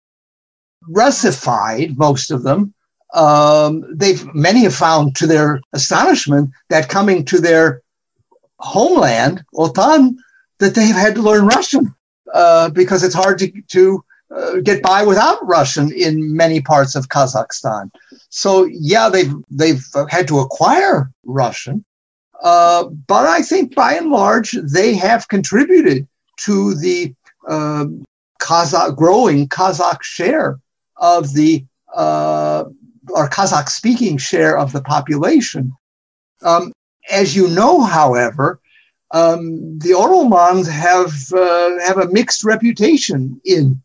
S5: Russified, most of them. Um, they've many have found, to their astonishment, that coming to their homeland, Otan, that they've had to learn Russian uh, because it's hard to to uh, get by without Russian in many parts of Kazakhstan. So yeah, they've they've had to acquire Russian, uh, but I think by and large they have contributed to the uh, Kazakh growing Kazakh share of the uh, or Kazakh-speaking share of the population. Um, as you know, however, um, the Oromans have uh, have a mixed reputation in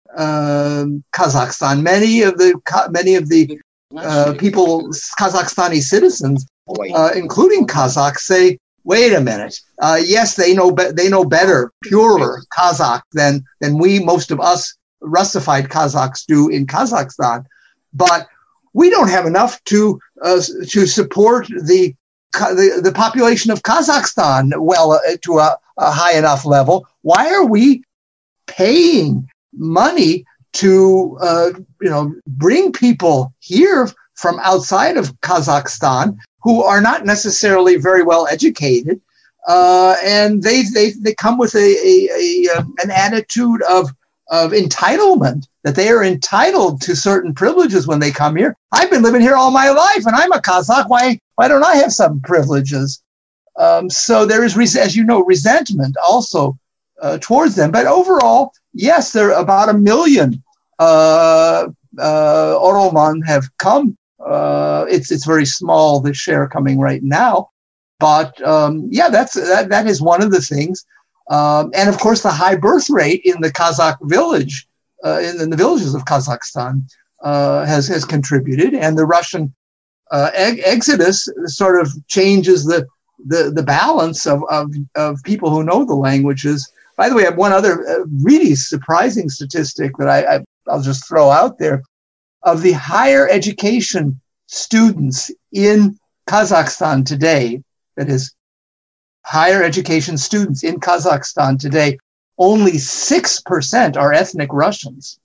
S5: uh, Kazakhstan. Many of the many of the uh, people, Kazakhstani citizens, uh, including Kazakhs, say, "Wait a minute. Uh, yes, they know be- they know better, purer Kazakh than than we, most of us Russified Kazakhs, do in Kazakhstan, but we don't have enough to uh, to support the, the the population of Kazakhstan well uh, to a, a high enough level. Why are we paying money to uh, you know bring people here from outside of Kazakhstan who are not necessarily very well educated, uh, and they they they come with a, a, a an attitude of of entitlement, that they are entitled to certain privileges when they come here. I've been living here all my life and I'm a Kazakh. Why, why don't I have some privileges? Um, so there is, as you know, resentment also uh, towards them. But overall, yes, there are about a million uh, uh, Oroman have come. Uh, it's it's very small, the share coming right now. But um, yeah, that's that, that is one of the things. Um, and of course, the high birth rate in the Kazakh village, uh, in, in the villages of Kazakhstan, uh, has has contributed. And the Russian uh, ex- exodus sort of changes the the, the balance of, of of people who know the languages. By the way, I have one other uh, really surprising statistic that I, I I'll just throw out there. Of the higher education students in Kazakhstan today, that is, higher education students in Kazakhstan today, only six percent are ethnic Russians.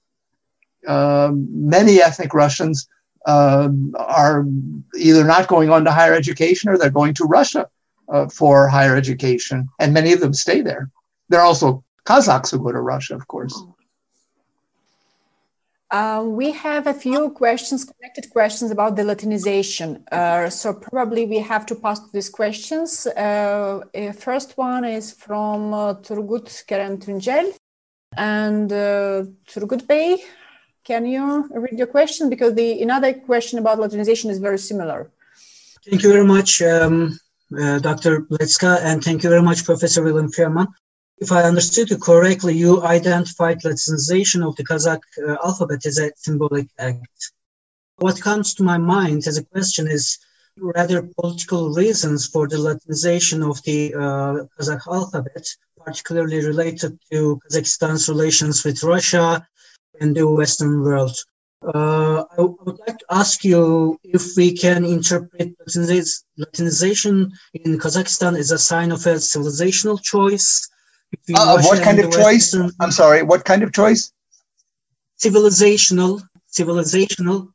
S5: Um, many ethnic Russians um, are either not going on to higher education or they're going to Russia uh, for higher education, and many of them stay there. There are also Kazakhs who go to Russia, of course.
S3: Uh, we have a few questions, connected questions about the Latinization. Uh, so probably we have to pass to these questions. Uh, first one is from uh, Turgut Kerem Tuncel. And uh, Turgut Bey, can you read your question? Because the another question about Latinization is very similar.
S2: Thank you very much, um, uh, Doctor Blecka, and thank you very much, Professor Wilhelm Firman. If I understood you correctly, you identified Latinization of the Kazakh uh, alphabet as a symbolic act. What comes to my mind as a question is rather political reasons for the Latinization of the uh, Kazakh alphabet, particularly related to Kazakhstan's relations with Russia and the Western world. Uh, I would like to ask you if we can interpret Latinization in Kazakhstan as a sign of a civilizational choice.
S5: Uh, what kind of choice? Western... I'm sorry, what kind of choice?
S2: Civilizational, civilizational,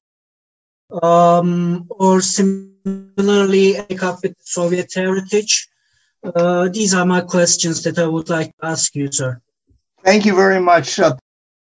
S2: um, or similarly, up with Soviet heritage. Uh, these are my questions that I would like to ask you, sir.
S5: Thank you very much. Uh,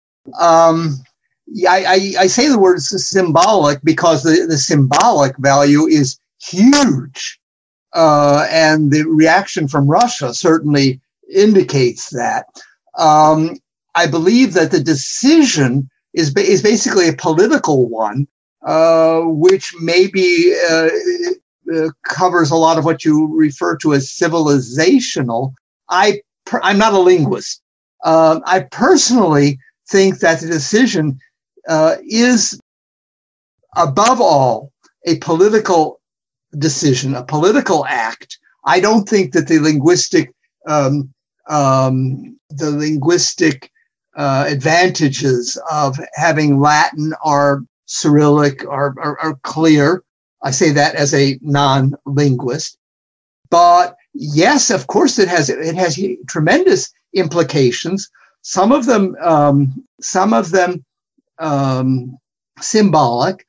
S5: um, I, I, I say the word symbolic because the, the symbolic value is huge. Uh, and the reaction from Russia certainly indicates that. Um, I believe that the decision is, ba- is basically a political one, uh, which maybe uh, uh, covers a lot of what you refer to as civilizational. I, per- I'm not a linguist. Uh, I personally think that the decision uh, is, above all, a political decision, a political act. I don't think that the linguistic um, um, the linguistic uh, advantages of having Latin or Cyrillic are, are, are clear. I say that as a non-linguist. But yes, of course, it has it has tremendous implications. Some of them, um, some of them, um, symbolic,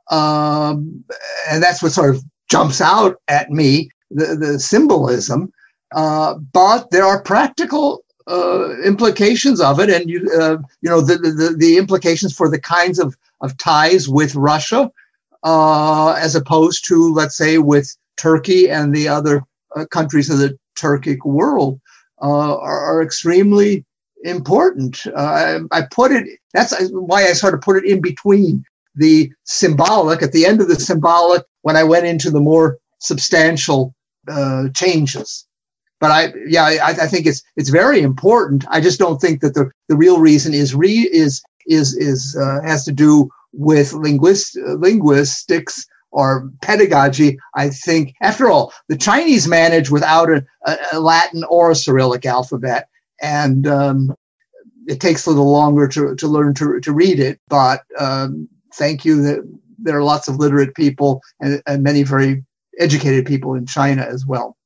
S5: um, and that's what sort of jumps out at me: the, the symbolism. Uh, but there are practical uh, implications of it, and you, uh, you know, the, the the implications for the kinds of of ties with Russia, uh, as opposed to, let's say, with Turkey and the other uh, countries of the Turkic world, uh, are, are extremely important. Uh, I, I put it. That's why I sort of put it in between the symbolic, at the end of the symbolic, when I went into the more substantial uh, changes. But I, yeah, I, I think it's it's very important. I just don't think that the, the real reason is re is is is uh, has to do with linguist linguistics or pedagogy. I think, after all, the Chinese manage without a, a Latin or a Cyrillic alphabet, and um, it takes a little longer to to learn to to read it. But um, thank you that there are lots of literate people and, and many very educated people in China as well.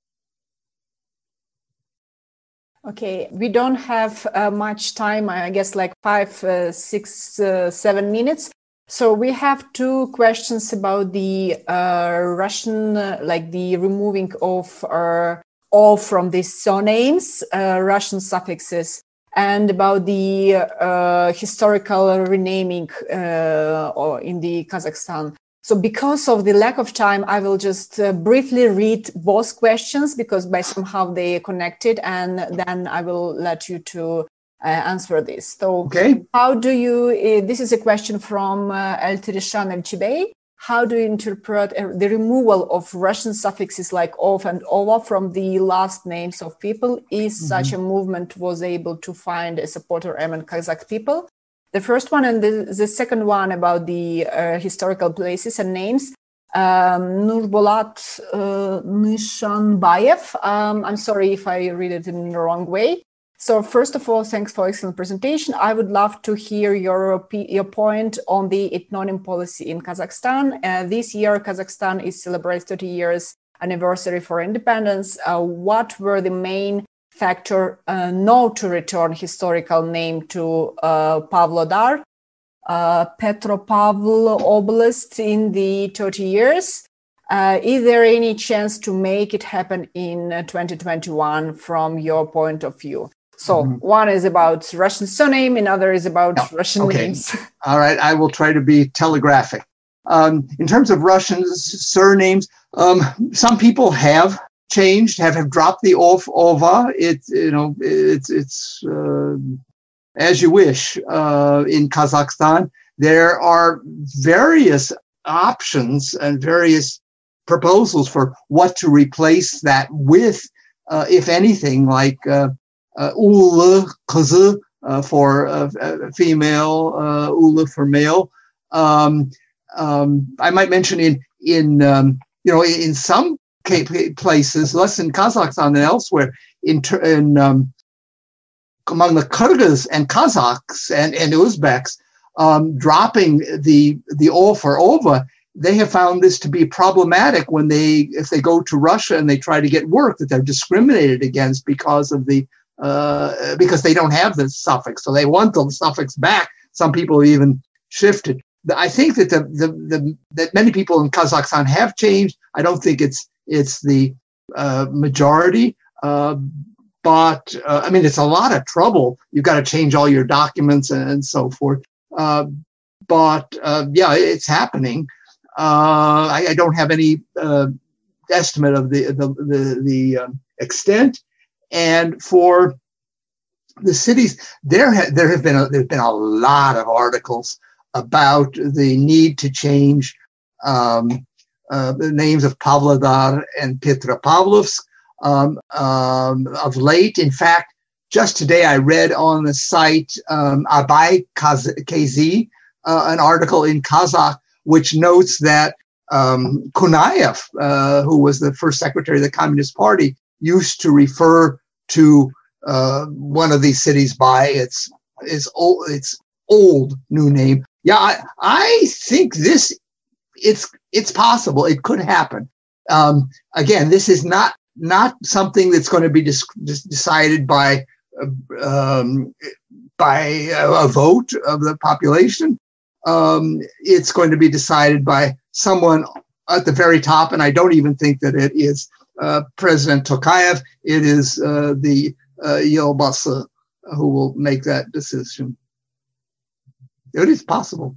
S3: Okay, we don't have uh, much time, I guess like five, uh, six, uh, seven minutes. So we have two questions about the uh, Russian, uh, like the removing of uh, all from the surnames, uh, Russian suffixes, and about the uh, historical renaming uh, or in the Kazakhstan. So because of the lack of time, I will just uh, briefly read both questions because by somehow they are connected, and then I will let you to uh, answer this. So
S5: okay.
S3: How do you, uh, this is a question from uh, Eltirishan Elchibey. How do you interpret uh, the removal of Russian suffixes like of and over from the last names of people? Is mm-hmm. such a movement was able to find a supporter among Kazakh people? The first one and the, the second one about the uh, historical places and names. Um, Nurbolat uh, Nishanbayev. Um, I'm sorry if I read it in the wrong way. So first of all, thanks for excellent presentation. I would love to hear your, your point on the ethnonym policy in Kazakhstan. Uh, this year, Kazakhstan is celebrating thirty years anniversary for independence. Uh, what were the main factor uh, not to return historical name to uh, Pavlodar, uh, Petropavl Oblast in the thirty years? Uh, is there any chance to make it happen in uh, twenty twenty-one from your point of view? So mm-hmm. one is about Russian surname, another is about no. Russian okay. names.
S5: All right, I will try to be telegraphic. Um, in terms of Russian surnames, um, some people have changed, have, have dropped the of, ova. It's, you know, it's, it's uh, as you wish. Uh, in Kazakhstan, there are various options and various proposals for what to replace that with, uh, if anything, like uh, uh, ulu, kızı uh, for uh, female, uh, ulu for male. Um, um, I might mention in, in um, you know, in some places, less in Kazakhstan than elsewhere, in, in um, among the Kyrgyz and Kazakhs and, and Uzbeks um, dropping the the O for OVA, they have found this to be problematic when they, if they go to Russia and they try to get work, that they're discriminated against because of the, uh, because they don't have the suffix. So they want the suffix back. Some people even shifted. I think that the, the, the that many people in Kazakhstan have changed. I don't think it's, it's the uh, majority, uh, but uh, I mean, it's a lot of trouble. You've got to change all your documents and, and so forth. Uh, but uh, yeah, it's happening. Uh, I, I don't have any uh, estimate of the the the, the um, extent, and for the cities, there ha- there have been a, there's been a lot of articles about the need to change um, uh, the names of Pavlodar and Petropavlovsk um, um, of late. In fact, just today I read on the site um, Abay K Z uh, an article in Kazakh, which notes that um, Kunayev, uh, who was the first secretary of the Communist Party, used to refer to uh, one of these cities by its its old, its old new name. Yeah, I, I think this it's it's possible. It could happen. Um, again, this is not not something that's going to be dis- decided by uh, um, by a, a vote of the population. Um, it's going to be decided by someone at the very top, and I don't even think that it is uh, President Tokayev. It is uh, the uh, Yelbasa who will make that decision. It is possible.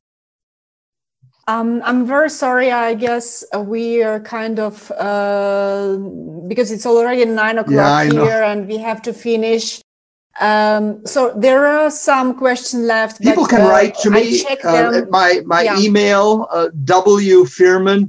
S3: Um, I'm very sorry. I guess we are kind of uh, because it's already nine o'clock
S5: yeah,
S3: here, and we have to finish. Um, so there are some questions left.
S5: People
S3: but,
S5: can
S3: uh,
S5: write to me uh, at my, my yeah. email, uh, W Firman.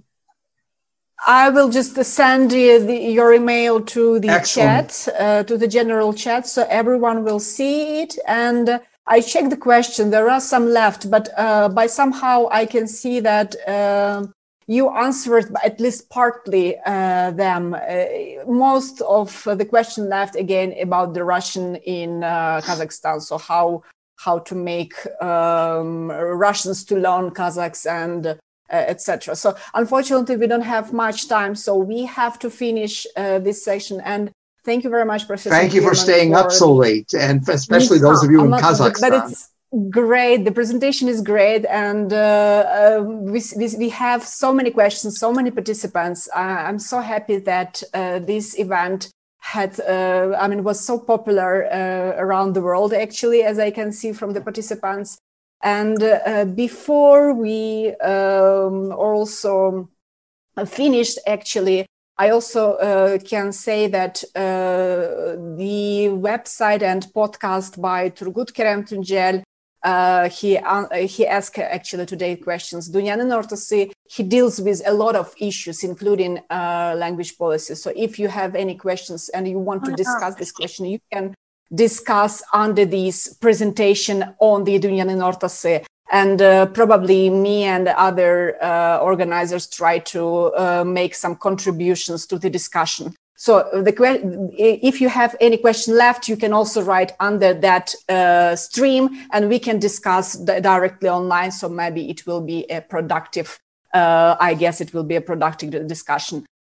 S3: I will just send you the, your email to the
S5: Excellent.
S3: chat, uh, to the general chat, so everyone will see it. And uh, I checked the question. There are some left, but uh, by somehow I can see that uh, you answered at least partly uh, them. Uh, most of the question left again about the Russian in uh, Kazakhstan. So how how to make um, Russians to learn Kazakhs and uh, et cetera. So unfortunately, we don't have much time. So we have to finish uh, this session. And thank you very much, Professor.
S5: Thank you for staying for... up so late, and especially those of you I'm in not, Kazakhstan.
S3: But it's great. The presentation is great, and uh, uh, we, we we have so many questions, so many participants. Uh, I'm so happy that uh, this event had, uh, I mean, was so popular uh, around the world. Actually, as I can see from the participants. And uh, before we um, also finished, actually, I also uh, can say that uh, the website and podcast by Turgut Kerem Tuncel, uh, he uh, he asked actually today questions. Dünyanın Ortası, he deals with a lot of issues, including uh, language policy. So if you have any questions and you want to discuss this question, you can discuss under this presentation on the Dünyanın Ortası. And uh, probably me and other uh, organizers try to uh, make some contributions to the discussion. So the que- if you have any question left, you can also write under that uh, stream and we can discuss d- directly online. So maybe it will be a productive, uh, I guess it will be a productive discussion.